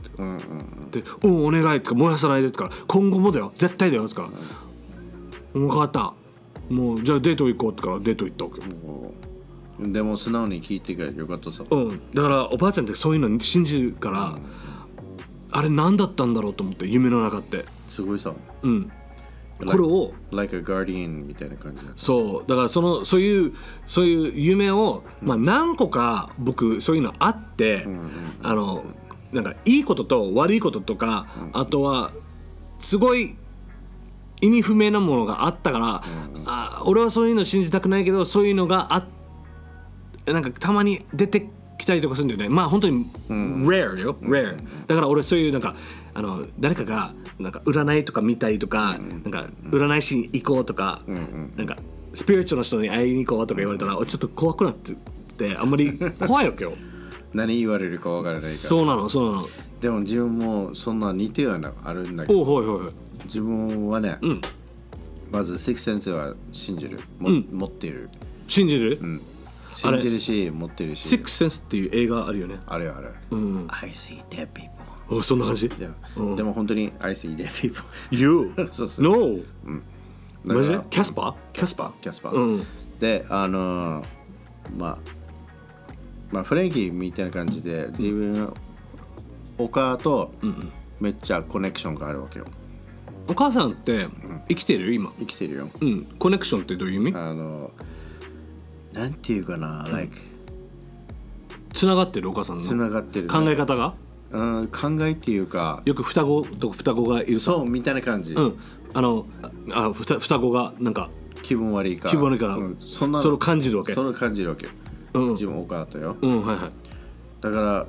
お願いって燃やさないでってから、今後もだよ絶対だよってから、分かった、もうじゃあデート行こうってからデート行ったわけ。 でも素直に聞いてくれてよかったさ。 だからおばあちゃんってそういうの信じるから、あれ何だったんだろうと思って、夢の中ってすごいさ。 これを like a guardian みたいな感じだ。 そうだからそういう夢を、何個か僕そういうのあって、 なんかいいことと悪いこととか、あとはすごい意味不明なものがあったから、俺はそういうの信じたくないけど、そういうのがなんかたまに出てきたりとかするんだよね。まあ本当に rare よ、rare。だから俺そういうなんか誰かがなんか占いとか見たりとか、なんか占い師に行こうとか、なんかスピリチュアルの人に会いに行こうとか言われたら、ちょっと怖くなってて、あんまり怖いわけよ。 何言われるかわからないから。 そうなの。 でも自分もそんな似てはあるんだけど、自分はね、まずシックスセンスは信じる、持っている。 信じる？ 信じるし持ってるし。 シックスセンスっていう映画あるよね。 ある。I see dead people。 そんな感じ？ でも本当に I see dead people。 You？ No。マジで？キャスパー。でまあフレンキーみたいな感じで自分のお母とめっちゃコネクションがあるわけよ。 お母さんって生きてる？今生きてるよ。 コネクションってどういう意味？ なんていうかな、 つながってるお母さんのつながってる考え方が、 考えっていうか、 よく双子がいるさ、 そうみたいな感じ。 双子がなんか気分悪いから、 それを感じるわけ。 それを感じるわけよ。自分お母とよ。だから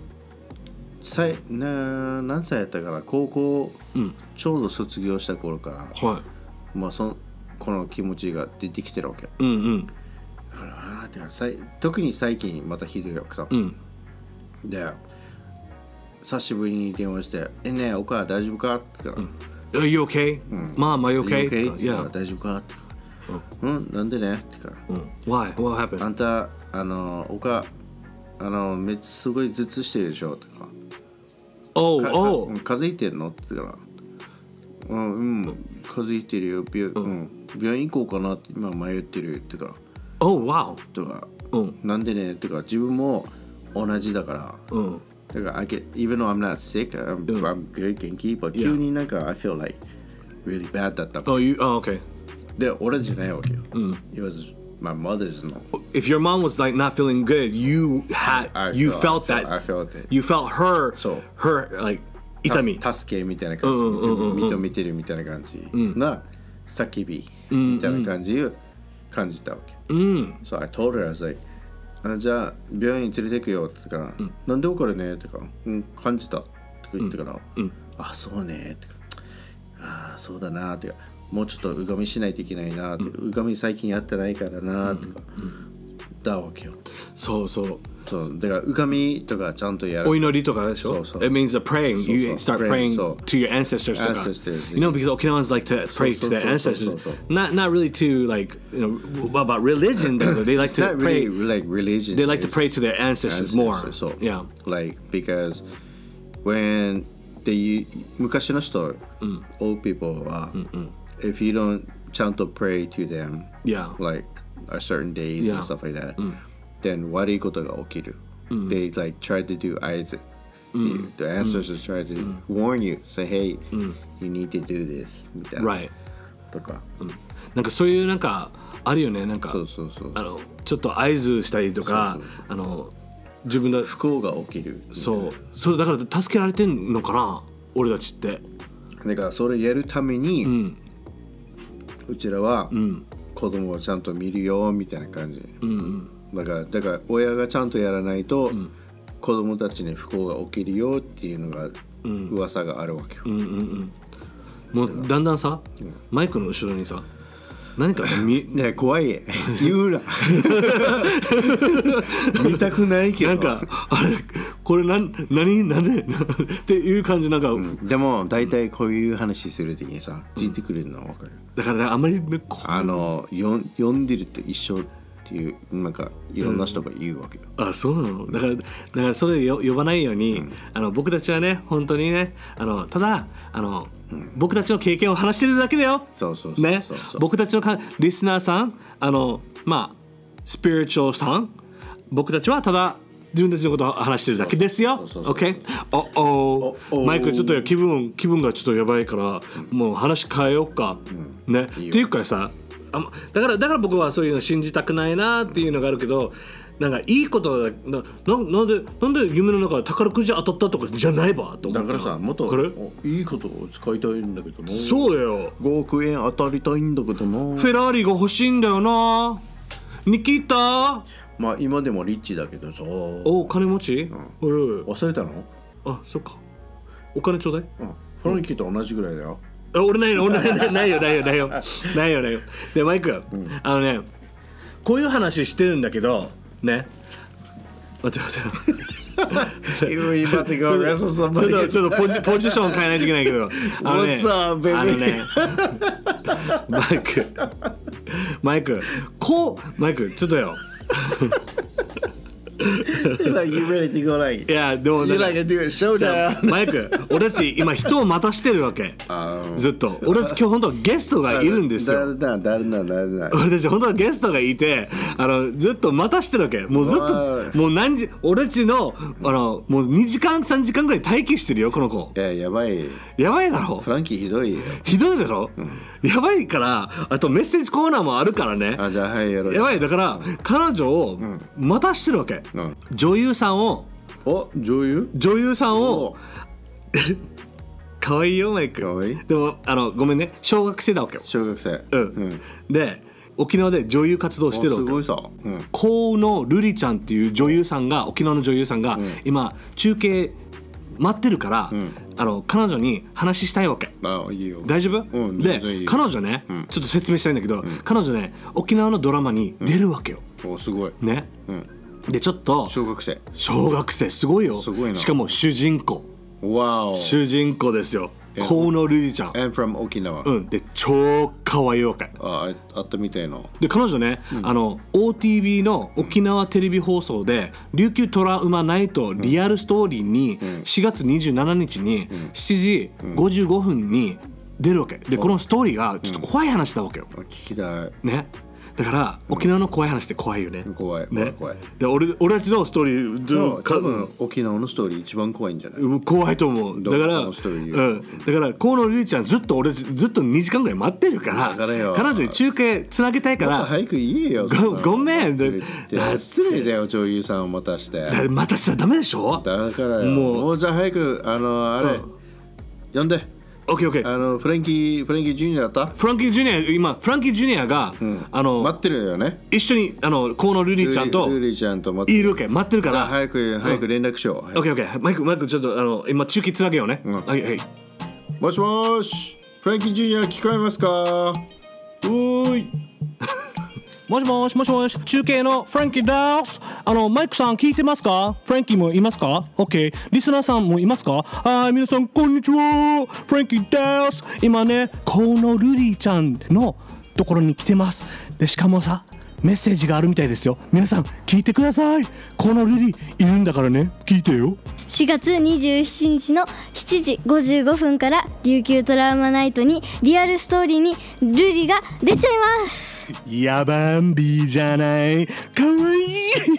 何歳やったから高校ちょうど卒業した頃から、まあこの気持ちが出てきてるわけ。だから特に最近またひどいわけさ。で久しぶりに電話して「ねえお母大丈夫か?」って言ったら「 You okay? Mom, are you okay?」 って言ったら「大丈夫か?」って言ったら「なんでね?」って言ったら「Why? What happened?」 あんたお母めっちゃすごい頭痛してるでしょとか「風邪ひいてんの?」って言ったら「風邪ひいてるよ病院行こうかなって今迷ってる」って言ったら 「Oh wow」 とか「なんでね?」ってか自分も同じだからだから even though I'm not sick I'm good 元気 but 急になんか I feel like really bad だった。 Okay。 で俺じゃないわけよ。It was my mother's no. If your mom was like not feeling good, you felt that. I felt it. You felt her like 痛み。 助けみたいな感じ、認めてるみたいな感じな叫びみたいな感じを感じたわけ。So I told her I was like じゃあ病院に連れてくよって言ったから、なんで怒るねってか、感じたって言ってから、あそうねってか、あそうだなってか、もうちょっとうがみしないといけないなって、うがみ最近やってないからなってか、だわけよ。 そうだからうがみとかちゃんとやる。 お祈りとかでしょ。It means that praying. You start praying to your ancestors とか。You know, because Okinawans like to pray to their ancestors. Not really to like about religion. They like to pray. Like religion. They like to pray to their ancestors more. Yeah. Like because when昔の人 old people は if you don't ちゃんと pray to them like a certain days and stuff like that then 悪いことが起きる。They like try to do eyes the ancestors try to warn you say hey you need to do this みたいなとかなんかそういうなんかあるよね。なんかちょっと合図したりとか自分の不幸が起きる。 そうだから助けられてんのかな俺たちって。 だからそれやるためにうちらは子供をちゃんと見るよみたいな感じ。だから親がちゃんとやらないと子供たちに不幸が起きるよっていうのが噂があるわけよ。 もうだんだんさマイクの後ろにさ何かね怖い言うな見たくないけどなんかあれこれなんでっていう感じなんか、 でも大体こういう話する時にさついてくれるのは分かる。 だからあんまり読んでると一緒っていうなんかいろんな人が言うわけよ。 あそうなの。だからそれ呼ばないように、僕たちはね本当にねただ僕たちの経験を話してるだけだよ。ね、僕たちのリスナーさんまあスピリチュアルさん僕たちはただ自分たちのことを話してるだけですよ。OK？マイクちょっと気分がちょっとやばいからもう話変えようか。ねっていうかさだから僕はそういうの信じたくないなっていうのがあるけどなんかいいことなんで夢の中で宝くじ当たったとかじゃないばと思った。 だからさ、もっといいことを使いたいんだけどな。 そうだよ。 5億円当たりたいんだけどな。 フェラーリが欲しいんだよな。ニキータ。 まあ今でもリッチだけどさ。 お、金持ち？ 忘れたの？ あ、そっか。お金ちょうだい。 フランキーと同じぐらいだよ。 俺ないよ。でマイク、こういう話してるんだけどね。待って。 今てかちょっとポジション変えないといけないけど、マイクちょっとよ。いやでもマイク、俺たち今人を待たしてるわけ。ずっと俺たち今日本当はゲストがいるんですよ。 誰だ俺たち本当はゲストがいて、ずっと待たしてるわけ。もうずっともう俺たちのもう2時間3時間ぐらい待機してるよこの子。 やばいだろ。 フランキーひどいだろ、やばいから。あとメッセージコーナーもあるからね。 じゃあはい、やろう。 やばい。だから彼女を待たしてるわけ。女優さんをかわいいよマイク。でもごめんね、小学生だわけよ。 小学生。 で沖縄で女優活動してるわけ。 すごいさ。 河野瑠璃ちゃんっていう女優さんが、沖縄の女優さんが今中継待ってるから、彼女に話したいわけ。 いいよ。 大丈夫？で彼女ね、ちょっと説明したいんだけど、彼女ね沖縄のドラマに出るわけよ。 すごいね。でちょっと小学生すごいよ。 すごいな。 しかも主人公ですよ。河野瑠璃ちゃん。 And from 沖縄。 で超可愛いわけ。 あったみたいな。 で彼女ね、OTV の沖縄テレビ放送で琉球トラウマナイトリアルストーリーに4月27日に7時55分に出るわけで、このストーリーがちょっと怖い話だわけよ。 聞きたいね。だから沖縄の怖い話って怖いよね。 怖い。 で俺たちのストーリー多分沖縄のストーリー一番怖いんじゃない？ 怖いと思う。だから河野瑠璃ちゃんずっと2時間ぐらい待ってるから、彼女に中継つなげたいから。 早く言えよ。 ごめん。 失礼だよ、女優さんを待たして。 待たせちゃダメでしょ。 だからよ。もうじゃあ早く呼んで。 オッケー。 フランキージュニアだった？ フランキージュニアが待ってるよね。 一緒に河野瑠璃ちゃんといるわけ。待ってるから。 早く連絡しよう。 オッケー。マイクちょっと今中継つなげようね。はい。 もしもし、フランキージュニア聞こえますか？おーい。 もし、中継のフランキーです。マイクさん聞いてますか？フランキーもいますか？ OK。リスナーさんもいますか？はい、皆さんこんにちは。フランキーです。今ね、河野瑠璃ちゃんのところに来てます。で、しかもさ、メッセージがあるみたいですよ。皆さん聞いてください。河野瑠璃いるんだからね、聞いてよ。 4月27日の7時55分から琉球トラウマナイトにリアルストーリーに瑠璃が出ちゃいます。 やばんびじゃない。かわいい。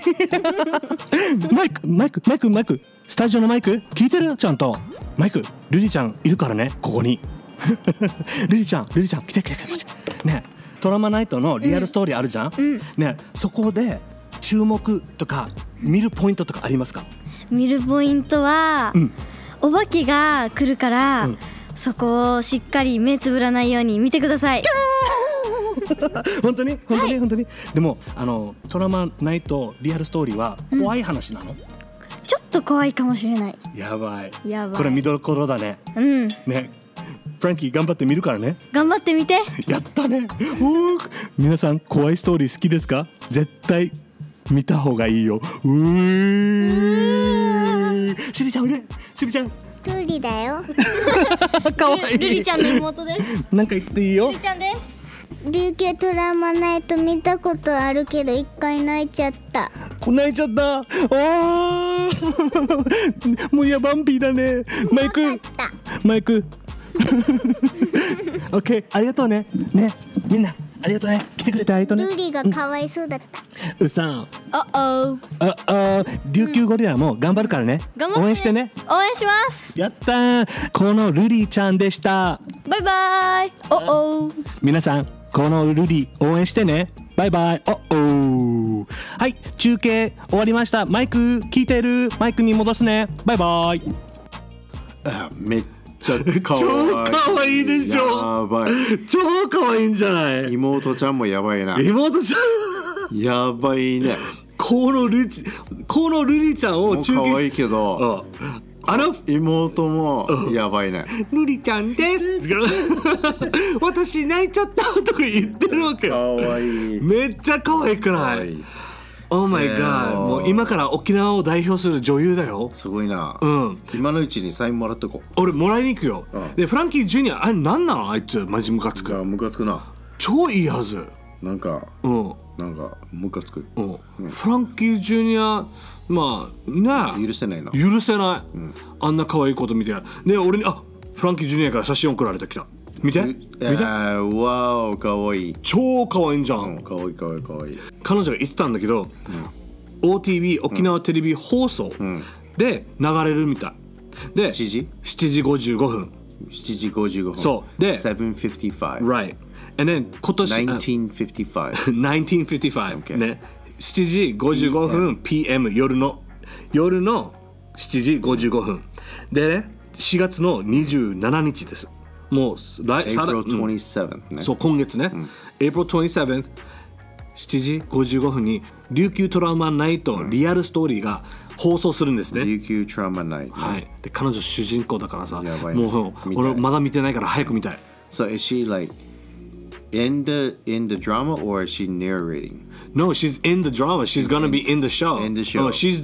マイクスタジオのマイク聞いてる？ちゃんとマイク、瑠璃ちゃんいるからね、ここに。瑠璃ちゃん来てね。トラウマナイトのリアルストーリーあるじゃん、ね。そこで注目とか見るポイントとかありますか？ 見るポイントは、お化けが来るから、そこをしっかり目つぶらないように見てください。 本当にでもトラウマナイトリアルストーリーは怖い話なの？ ちょっと怖いかもしれない。 やばい。これ見どころだね。ね。フランキー頑張って見るからね。 頑張ってみて。 やったね。皆さん怖いストーリー好きですか？絶対見た方がいいよ。しりちゃんルリだよ。 かわいい。 ルリちゃんの妹です。 なんか言っていいよ。 ルリちゃんです。 琉球トラウマナイト見たことあるけど一回泣いちゃった。 泣いちゃった。もうやばんぴーだね。マイクオッケー、ありがとうね。みんなありがとうね。来てくれてありがとうね。 ルリがかわいそうだった。 うさん。琉球ゴリラも頑張るからね。応援してね。 応援します。 やったー。このルリちゃんでした。 バイバイ。 皆さんこのルリ応援してね。バイバイ。 はい、中継終わりました。マイク聞いてる？マイクに戻すね。バイバイ。 めっちゃかわいい。 超かわいいでしょ。 やばい。 超かわいいんじゃない？ 妹ちゃんもやばいな。 妹ちゃんやばいね。 このルリちゃんを中継。かわいいけど、妹もやばいね。 ルリちゃんです。私泣いちゃったとか言ってるわけよ。 かわいい。 めっちゃ可愛くない？Oh my god、もう今から沖縄を代表する女優だよ。 すごいな。 うん。 今のうちにサインもらっとこう。 俺もらいに行くよ。でフランキー・ジュニア、あれなんなのあいつ、マジムカつく。 ムカつくな。 超いいはず。 なんかムカつく。 フランキー・ジュニア、まあね、 許せないな。 許せない。あんな可愛いこと見て。で俺にフランキー・ジュニアから写真送られてきた。見て。 わお、かわいい。 超かわいいんじゃん。 かわいいかわいいかわいい。 彼女が言ってたんだけど、OTV 沖縄テレビ放送で流れるみたい。で7時55分。 7時55分。 そうで 7:55。 Right。And then 今年 1955。 1955 ね。7時55分 PM 夜の7時55分でね、4月の27日です。もう April 27th ね。 そう、今月ね。April 27th 7時55分に琉球トラウマナイトリアルストーリーが放送するんですね。 琉球トラウマナイト。 はい。で彼女主人公だからさ、もう俺まだ見てないから早く見たい。 So is she like in the drama or is she narrating? No, she's in the drama. She's gonna be in the show. In the show. Oh, she's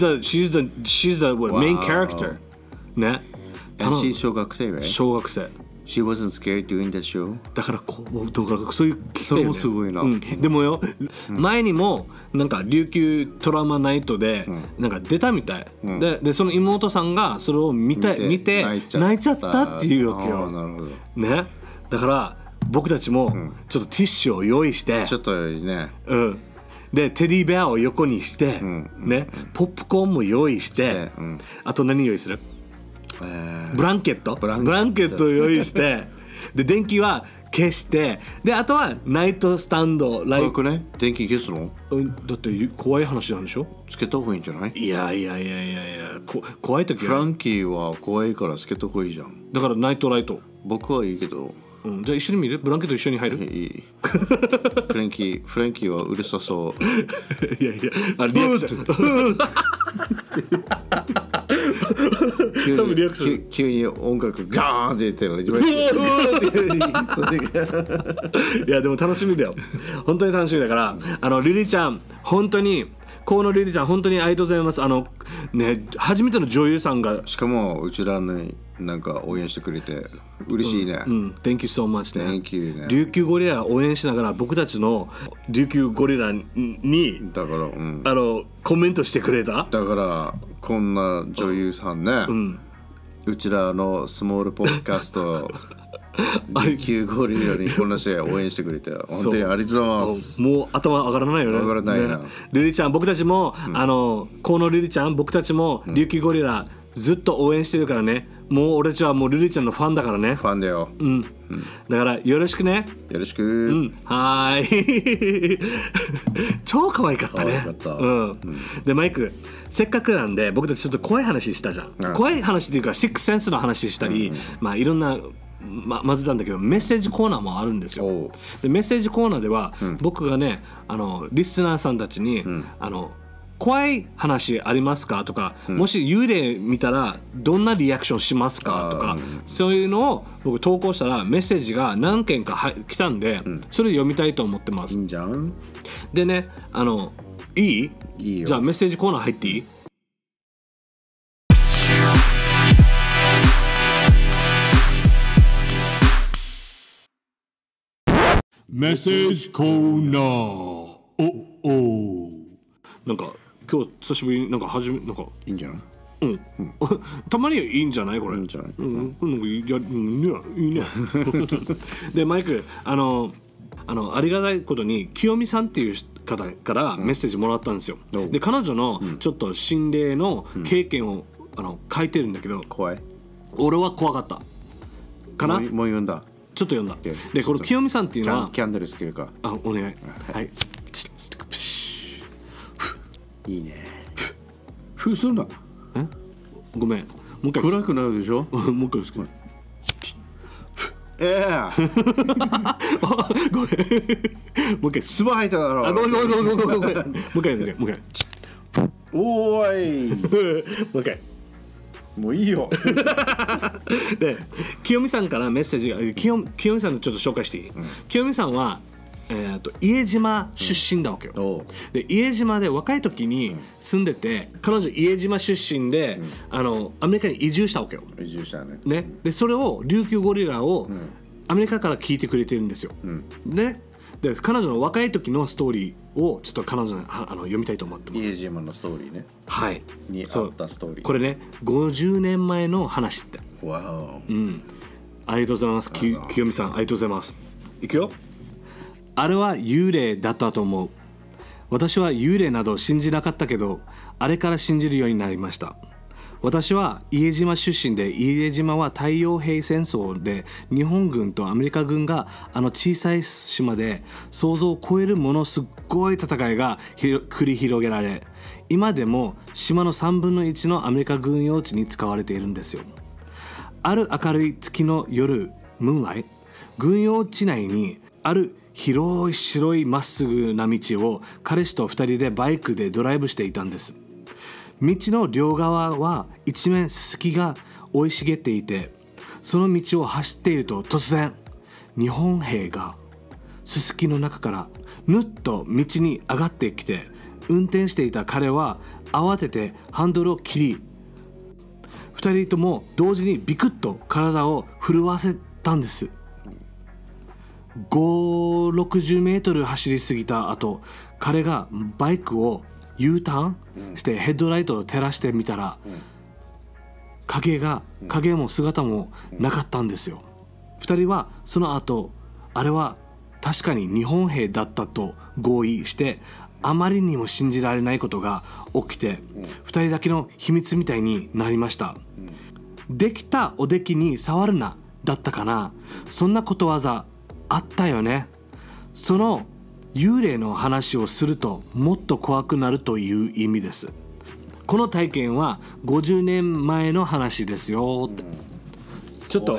the what, main character. ね。 And she's 小学生 right? 小学生。 She wasn't scared doing the show? だからそういうそれもすごいな。 でもよ、前にもなんか琉球トラウマナイトでなんか出たみたい。でその妹さんがそれを見て泣いちゃったっていうわけよ。 なるほど。 ね。だから僕たちもちょっとティッシュを用意して、 ちょっとね。 でテディベアを横にして、ね、ポップコーンも用意して、あと何用意する？ブランケットを用意してで電気は消して、であとはナイトスタンド怖くね？電気消すの？ だって怖い話なんでしょ？ つけた方がいいんじゃない？いや怖い時はフランキーは怖いからつけた方がいいじゃん。 だからナイトライト。 僕はいいけど、 じゃあ一緒に見る？ブランケット一緒に入る？ いい。フランキーはうるさそう。 いやリアクション多分リアクション急に音楽ガーンって言ってるの。 いやでも楽しみだよ。本当に楽しみだから、リリちゃん本当に河野リリちゃん本当にありがとうございます。ね、初めての女優さんが、 しかもうちらになんか応援してくれて嬉しいね。 Thank you so much ね。 Thank you ね。 琉球ゴリラ応援しながら僕たちの琉球ゴリラにだから、 コメントしてくれた。 だからこんな女優さんね、うちらのスモールポッドキャスト琉球ゴリラにこんなして応援してくれて本当にありがとうございます。 もう頭上がらないよね。 上がらないな。 リリちゃん僕たちも河野リリちゃん僕たちも琉球ゴリラずっと応援してるからね。もう俺たちはもうリリちゃんのファンだからね。 ファンだよ。 だからよろしくね。 よろしく。 はい。超可愛かったね。でマイクせっかくなんで僕たちちょっと怖い話したじゃん。怖い話っていうかシックスセンスの話したり、まあいろんなまずなんだけどメッセージコーナーもあるんですよ。でメッセージコーナーでは、僕がねリスナーさんたちに、怖い話ありますかとか、もし幽霊見たらどんなリアクションしますかとか、そういうのを僕投稿したらメッセージが何件か来たんで、それ読みたいと思ってます。 いいんじゃん。 でねいい？いいよ。じゃあメッセージコーナー入っていい？メッセージコーナー。なんか今日久しぶりになんかなんかいいんじゃない？ たまにはいいんじゃないこれ？いいんじゃない？いいね。でマイクありがたいことに清美さんっていう方からメッセージもらったんですよ。で彼女のちょっと心霊の経験を書いてるんだけど、 怖い。 俺は怖かったかな。 もう読んだ。 ちょっと読んだ。でこの清美さんっていうのはキャンドルつけるか。 お願い。はい。 いいね。ふすんだ。 ごめん、もう一回。 暗くなるでしょ。 もう一回ですけど。 ごめん。 もう一回。 唾吐いただろ。 ごめん。もう一回。 おーい。 もう一回。 もういいよ。 で、清美さんからメッセージが、清美さんのちょっと紹介していい？清美さんは伊江島出身だわけよ。で、伊江島で若い時に住んでて、彼女伊江島出身で、アメリカに移住したわけよ。 移住したね。 で、それを琉球ゴリラをアメリカから聞いてくれてるんですよ。で、彼女の若い時のストーリーをちょっと彼女に読みたいと思ってます。 伊江島のストーリーね。 はい。 にあったストーリー。 これね、50年前の話って。 わお。 ありがとうございます。清美さん、ありがとうございます。いくよ。あれは幽霊だったと思う。私は幽霊など信じなかったけど、あれから信じるようになりました。私は伊江島出身で、伊江島は太陽平戦争で日本軍とアメリカ軍が小さい島で想像を超えるものすごい戦いが繰り広げられ、今でも島の3分の1のアメリカ軍用地に使われているんですよ。ある明るい月の夜、ムーンライト、軍用地内にある広い白いまっすぐな道を彼氏と2人でバイクでドライブしていたんです。道の両側は一面ススキが生い茂っていて、その道を走っていると突然日本兵がススキの中からぬっと道に上がってきて、運転していた彼は慌ててハンドルを切り、2人とも同時にビクッと体を震わせたんです。560メートル走り過ぎた後、彼がバイクを U ターンしてヘッドライトを照らしてみたら、影も姿もなかったんですよ。2人はその後、あれは確かに日本兵だったと合意して、あまりにも信じられないことが起きて、2人だけの秘密みたいになりました。できたおできに触るなだったかな、そんなことわざあったよね。その幽霊の話をするともっと怖くなるという意味です。この体験は50年前の話ですよって。ちょっと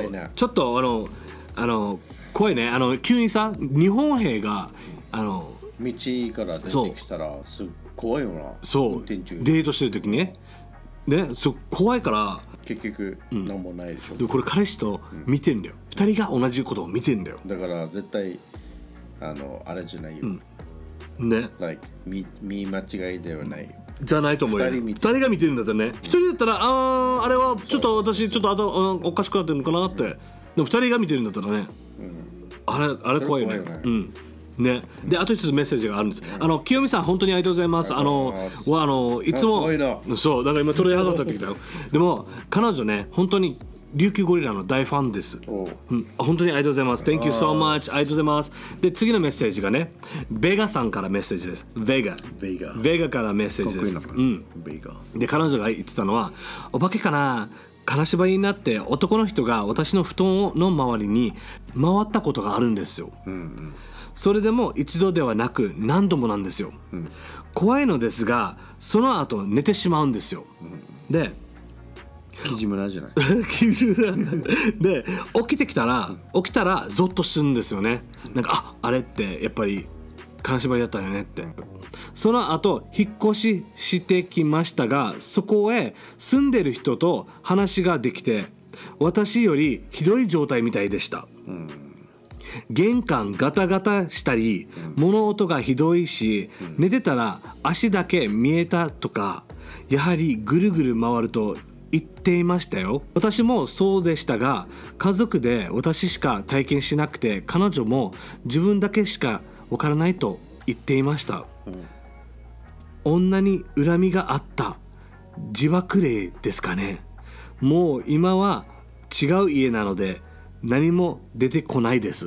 怖いね。急にさ、日本兵が道から出てきたらすっ怖いよな。 そう、デートしてる時ね。怖いから結局何もないでしょ。 でもこれ彼氏と見てんだよ。2人が同じことを見てんだよ。 だから絶対あれじゃないよ。 ね。 見間違いではない。 じゃないと思うよ。2人が見てるんだったらね。1人だったらあれはちょっと私ちょっとおかしくなってるのかなって。でも2人が見てるんだったらね。あれ怖いよね。ね、であと一つメッセージがあるんです。清美さん本当にありがとうございます。いつもそうだから今取り上がってきたよ。でも彼女ね、本当に琉球ゴリラの大ファンです。本当にありがとうございます。 Thank you so much。 ありがとうございます。で次のメッセージがね、ベガさんからメッセージです。ベガからメッセージです。で彼女が言ってたのは、お化けかな、金縛りになって男の人が私の布団の周りに回ったことがあるんですよ。それでも一度ではなく何度もなんですよ。怖いのですが、その後寝てしまうんですよ。でキジムラじゃないで起きたらゾッとするんですよね。なんかあれってやっぱり金縛りだったよねって。その後引っ越ししてきましたが、そこへ住んでる人と話ができて、私よりひどい状態みたいでした。玄関ガタガタしたり、物音がひどいし、寝てたら足だけ見えたとか、やはりぐるぐる回ると言っていましたよ。私もそうでしたが、家族で私しか体験しなくて、彼女も自分だけしかわからないと言っていました。女に恨みがあった自爆霊ですかね。もう今は違う家なので何も出てこないです。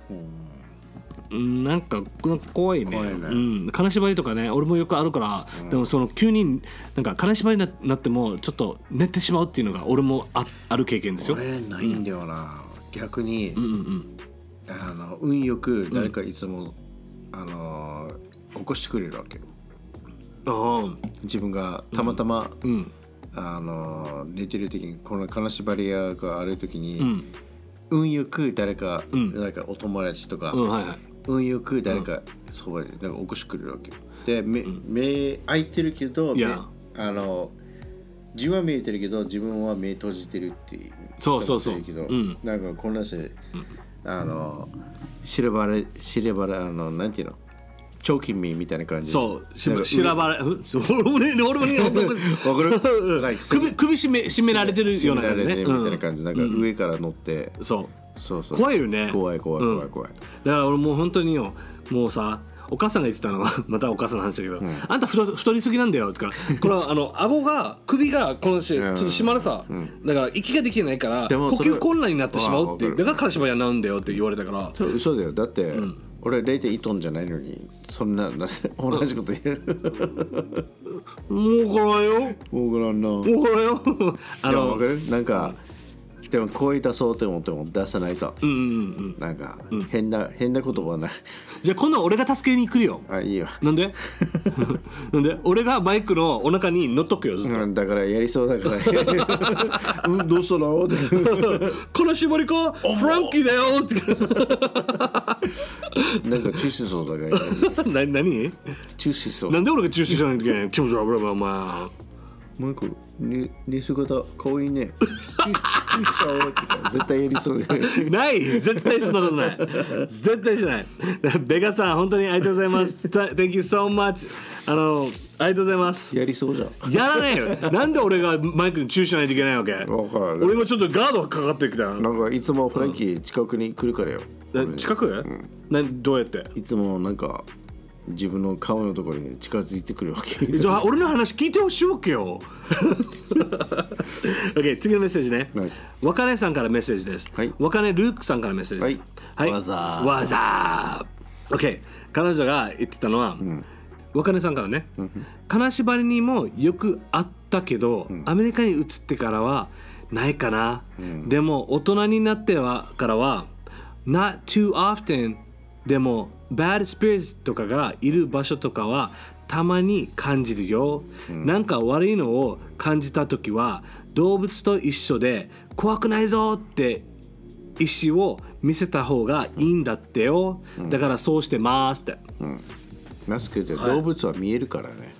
なんか怖いね。金縛りとかね、俺もよくあるから、でもその急になんか金縛りになってもちょっと寝てしまうっていうのが俺もある経験ですよ。 俺ないんだよな、逆に、運よく誰かいつも、起こしてくれるわけ。 自分がたまたま、寝てる時にこの金縛り屋がある時に、運よく誰かお友達とか、運よく誰かそばでなんか起こしてくれるわけよ。で、目開いてるけど、字は見えてるけど自分は目閉じてるっていう。 そうなんかこんなして知ればれなんていうの、チョーキンミーみたいな感じ。 そう、しらばれ、俺もわかる首絞められてるような感じね。 みたいな感じ、なんか上から乗って。 そう怖いよね。 怖い。だから俺もう本当によ、もうさ、お母さんが言ってたのはまたお母さんの話だけど、あんた太りすぎなんだよとか、これは顎が首がこのちょっと締まるさ、だから息ができないから呼吸困難になってしまうっていう、だから金縛りなんだよって言われたから。 嘘だよ。だって、俺 0.1 トンじゃないのにそんな同じこと言える。 もうからんよ。 もうからんな。 もうからんよ。 分かる？なんかでも声出そうと思っても出さないさ。なんか変な言葉はない。 じゃあ今度は俺が助けに来るよ。 あ、いいよ。 なんで？なんで？俺がマイクのお腹に乗っとくよずっと。 だからやりそうだから。どうしたの？ 金縛りか？フランキーだよって。 なんか中止そうだから。 何？ 中止そう。 なんで俺が中止しないといけない？気持ち悪いお前。 マイク、寝姿かわいいね。絶対やりそうで。 ない、絶対そんなことない。絶対しない。ベガさん、本当にありがとうございます。Thank you so much。ありがとうございます。 やりそうじゃん。 やらないよ。なんで俺がマイクに注意しないといけないわけ？俺もちょっとガードがかかってきた。 なんかいつもフランキー近くに来るからよ。 近く？どうやって？ いつもなんか自分の顔のところに近づいてくるわけ。 じゃあ俺の話聞いてほしいわけよ。OK、次のメッセージね。若根さんからメッセージです。若根ルークさんからメッセージ。 わざー。OK、彼女が言ってたのは、若根さんからね、金縛りにもよくあったけど、アメリカに移ってからはないかな。でも大人になってからは Not too often。でもbad spirits とかがいる場所とかはたまに感じるよ。なんか悪いのを感じたときは動物と一緒で怖くないぞって意思を見せた方がいいんだってよ。だからそうしてますって。 ますけど動物は見えるからね。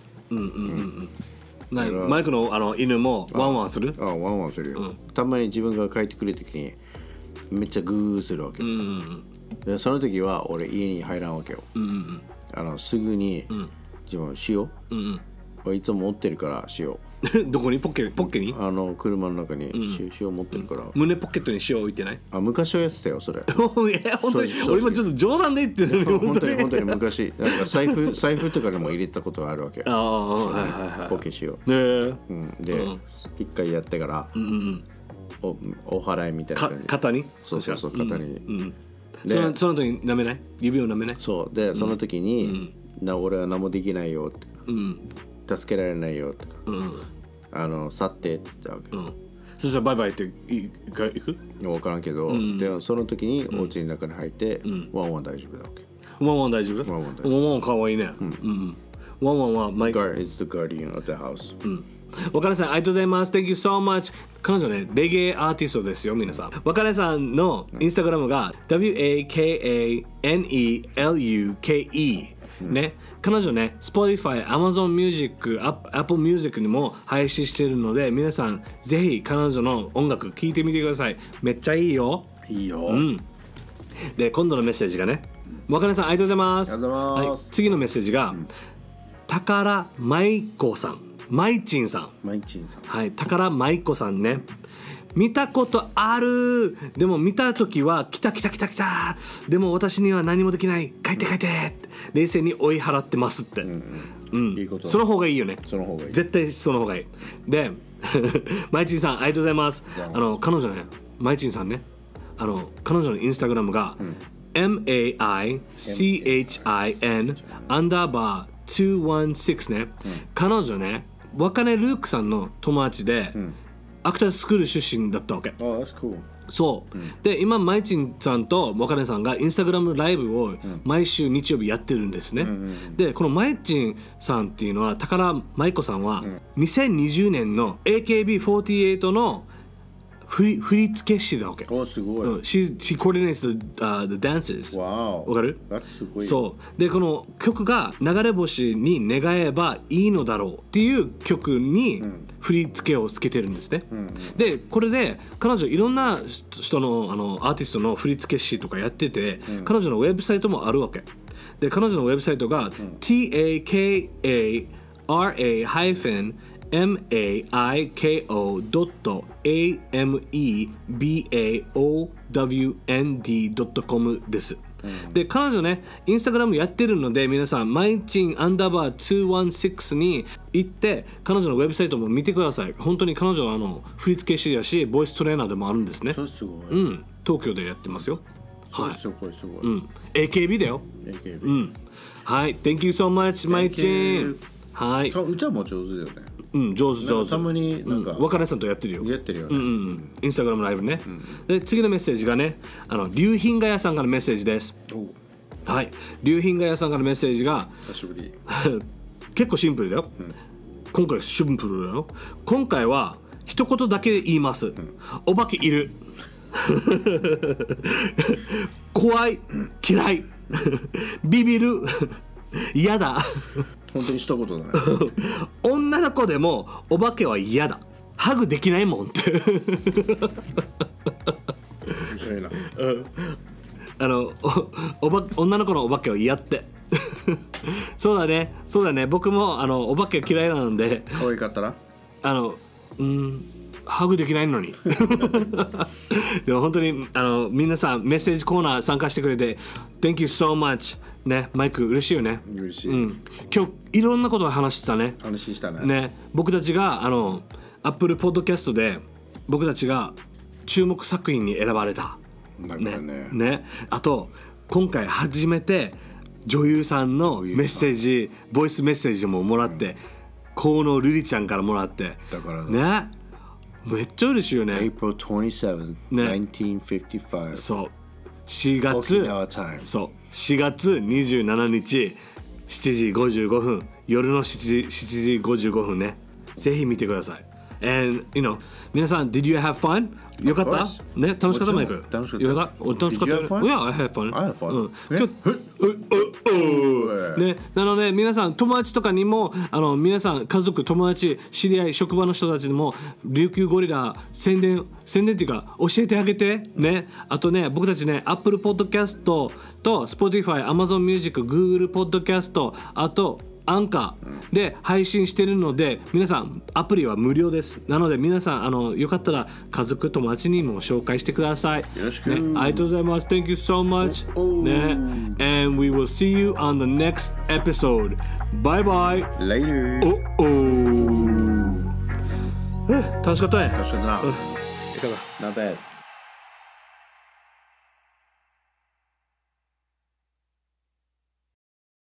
マイクの犬もワンワンする？ ワンワンするよ。たまに自分が帰ってくるときにめっちゃグーするわけ。でその時は俺家に入らんわけよ。すぐに自分塩、俺いつも持ってるから塩。 どこに？ポッケに？ 車の中に塩持ってるから。 胸ポケットに塩置いてない？ 昔はやってたよそれ。 本当に俺今ちょっと冗談で言ってる。 本当に昔なんか財布とかでも入れたことがあるわけ。ポケ塩。で一回やってからお祓いみたいな感じ。 肩に？ そう肩に。 その時に舐めない？指を舐めない？ そうでその時に俺は何もできないよって助けられないよって去ってって言ったわけ。 そしたらバイバイって行く？ 分からんけどでその時にお家の中に入ってワンワン大丈夫だわけ。 ワンワン大丈夫？ワンワンかわいいね。ワンワンはマイク。 It's the guardian of the house。 若根さんありがとうございます。 Thank you so much。 彼女ねレゲエアーティストですよ皆さん。若根さんのインスタグラムが WAKANELUKE ね。彼女ね Spotify、Amazon Music、Apple Music にも配信しているので皆さんぜひ彼女の音楽聴いてみてください。めっちゃいいよ。 いいよ。 で今度のメッセージがね、若根さんありがとうございます。はい、次のメッセージが、宝舞子さん、マイチンさん。はい、宝舞子さんね。見たことある。でも見た時は来た。でも私には何もできない。帰って冷静に追い払ってますって。 いいこと。 その方がいいよね。 その方がいい。 絶対その方がいい。でマイチンさんありがとうございます。彼女ね、マイチンさんね、彼女のインスタグラムが、MAICHIN_216ね。彼女ね、若根ルークさんの友達で、 アクタースクール出身だったわけ。 Oh, that's cool. そう、で今マイチンさんとモカネさんがインスタグラムライブを毎週日曜日やってるんですね、でこのマイチンさんっていうのは宝舞子さんは、2020年の AKB48 の振付師だわけ。 おすごい。 She coordinates the dances. わかる？ That's すごい。 そうでこの曲が流れ星に願えばいいのだろうっていう曲に振り付けをつけてるんですね、でこれで彼女いろんな人のアーティストの振付師とかやってて、彼女のウェブサイトもあるわけで、彼女のウェブサイトが、TAKARAIFN-MAIKO.AMEBAOWND.com です、で彼女ねインスタグラムやってるので皆さんマイチン_216に行って彼女のウェブサイトも見てください。本当に彼女は振付師だしボイストレーナーでもあるんですね。 そうすごい、 東京でやってますよ。はい、 すごいすごい、 AKB だよ。 AKB、 はい Thank you so much マイチン。はい。 歌も上手だよね。 上手。 たまになんか、 若根さんとやってるよ。 やってるよね。 インスタグラムライブね。で次のメッセージがね、龍品画屋さんからのメッセージです。はい。龍品画屋さんからのメッセージが久しぶり。 結構シンプルだよ。今回シンプルだよ。今回は一言だけで言います。お化けいる。怖い、嫌い、ビビる、嫌だ。 本当に一言だね。 女の子でもお化けは嫌だ。ハグできないもんって。 面白いな。 女の子のお化けは嫌って。そうだね。僕もお化け嫌いなので。 可愛かったら？ ハグできないのに。でも本当に皆さんメッセージコーナー参加してくれて Thank you so much ね、マイク嬉しいよね。 嬉しい、 今日いろんなことを話したね。 話したね。 ね、僕たちがApple Podcast で僕たちが注目作品に選ばれた。ね、あと今回初めて女優さんのメッセージボイスメッセージももらって、河野瑠璃ちゃんからもらってだからね、めっちゃ嬉しいよね。 April 27th、1955。 そう4月そう4月27日7時55分夜の7時55分ね、ぜひ見てください。And皆さん Did you have fun? よかったね、楽しかったマイク。 楽しかった。 よかった。楽しかったよ。Yeah, I had fun. fun. ね、なので皆さん友達とかにも皆さん家族友達知り合い職場の人たちでも琉球ゴリラ宣伝っていうか教えてあげてね。あとね僕たちね Apple Podcast と Spotify、Amazon Music、Google Podcast あとアンカーで配信してるので皆さんアプリは無料です。なので皆さんよかったら家族友達にも紹介してください。 よろしく、 ね、ありがとうございます。 Thank you so much、ね、and we will see you on the next episode. Bye bye. Later. 楽しかったね。 楽しかったな。 いかが？ Not bad.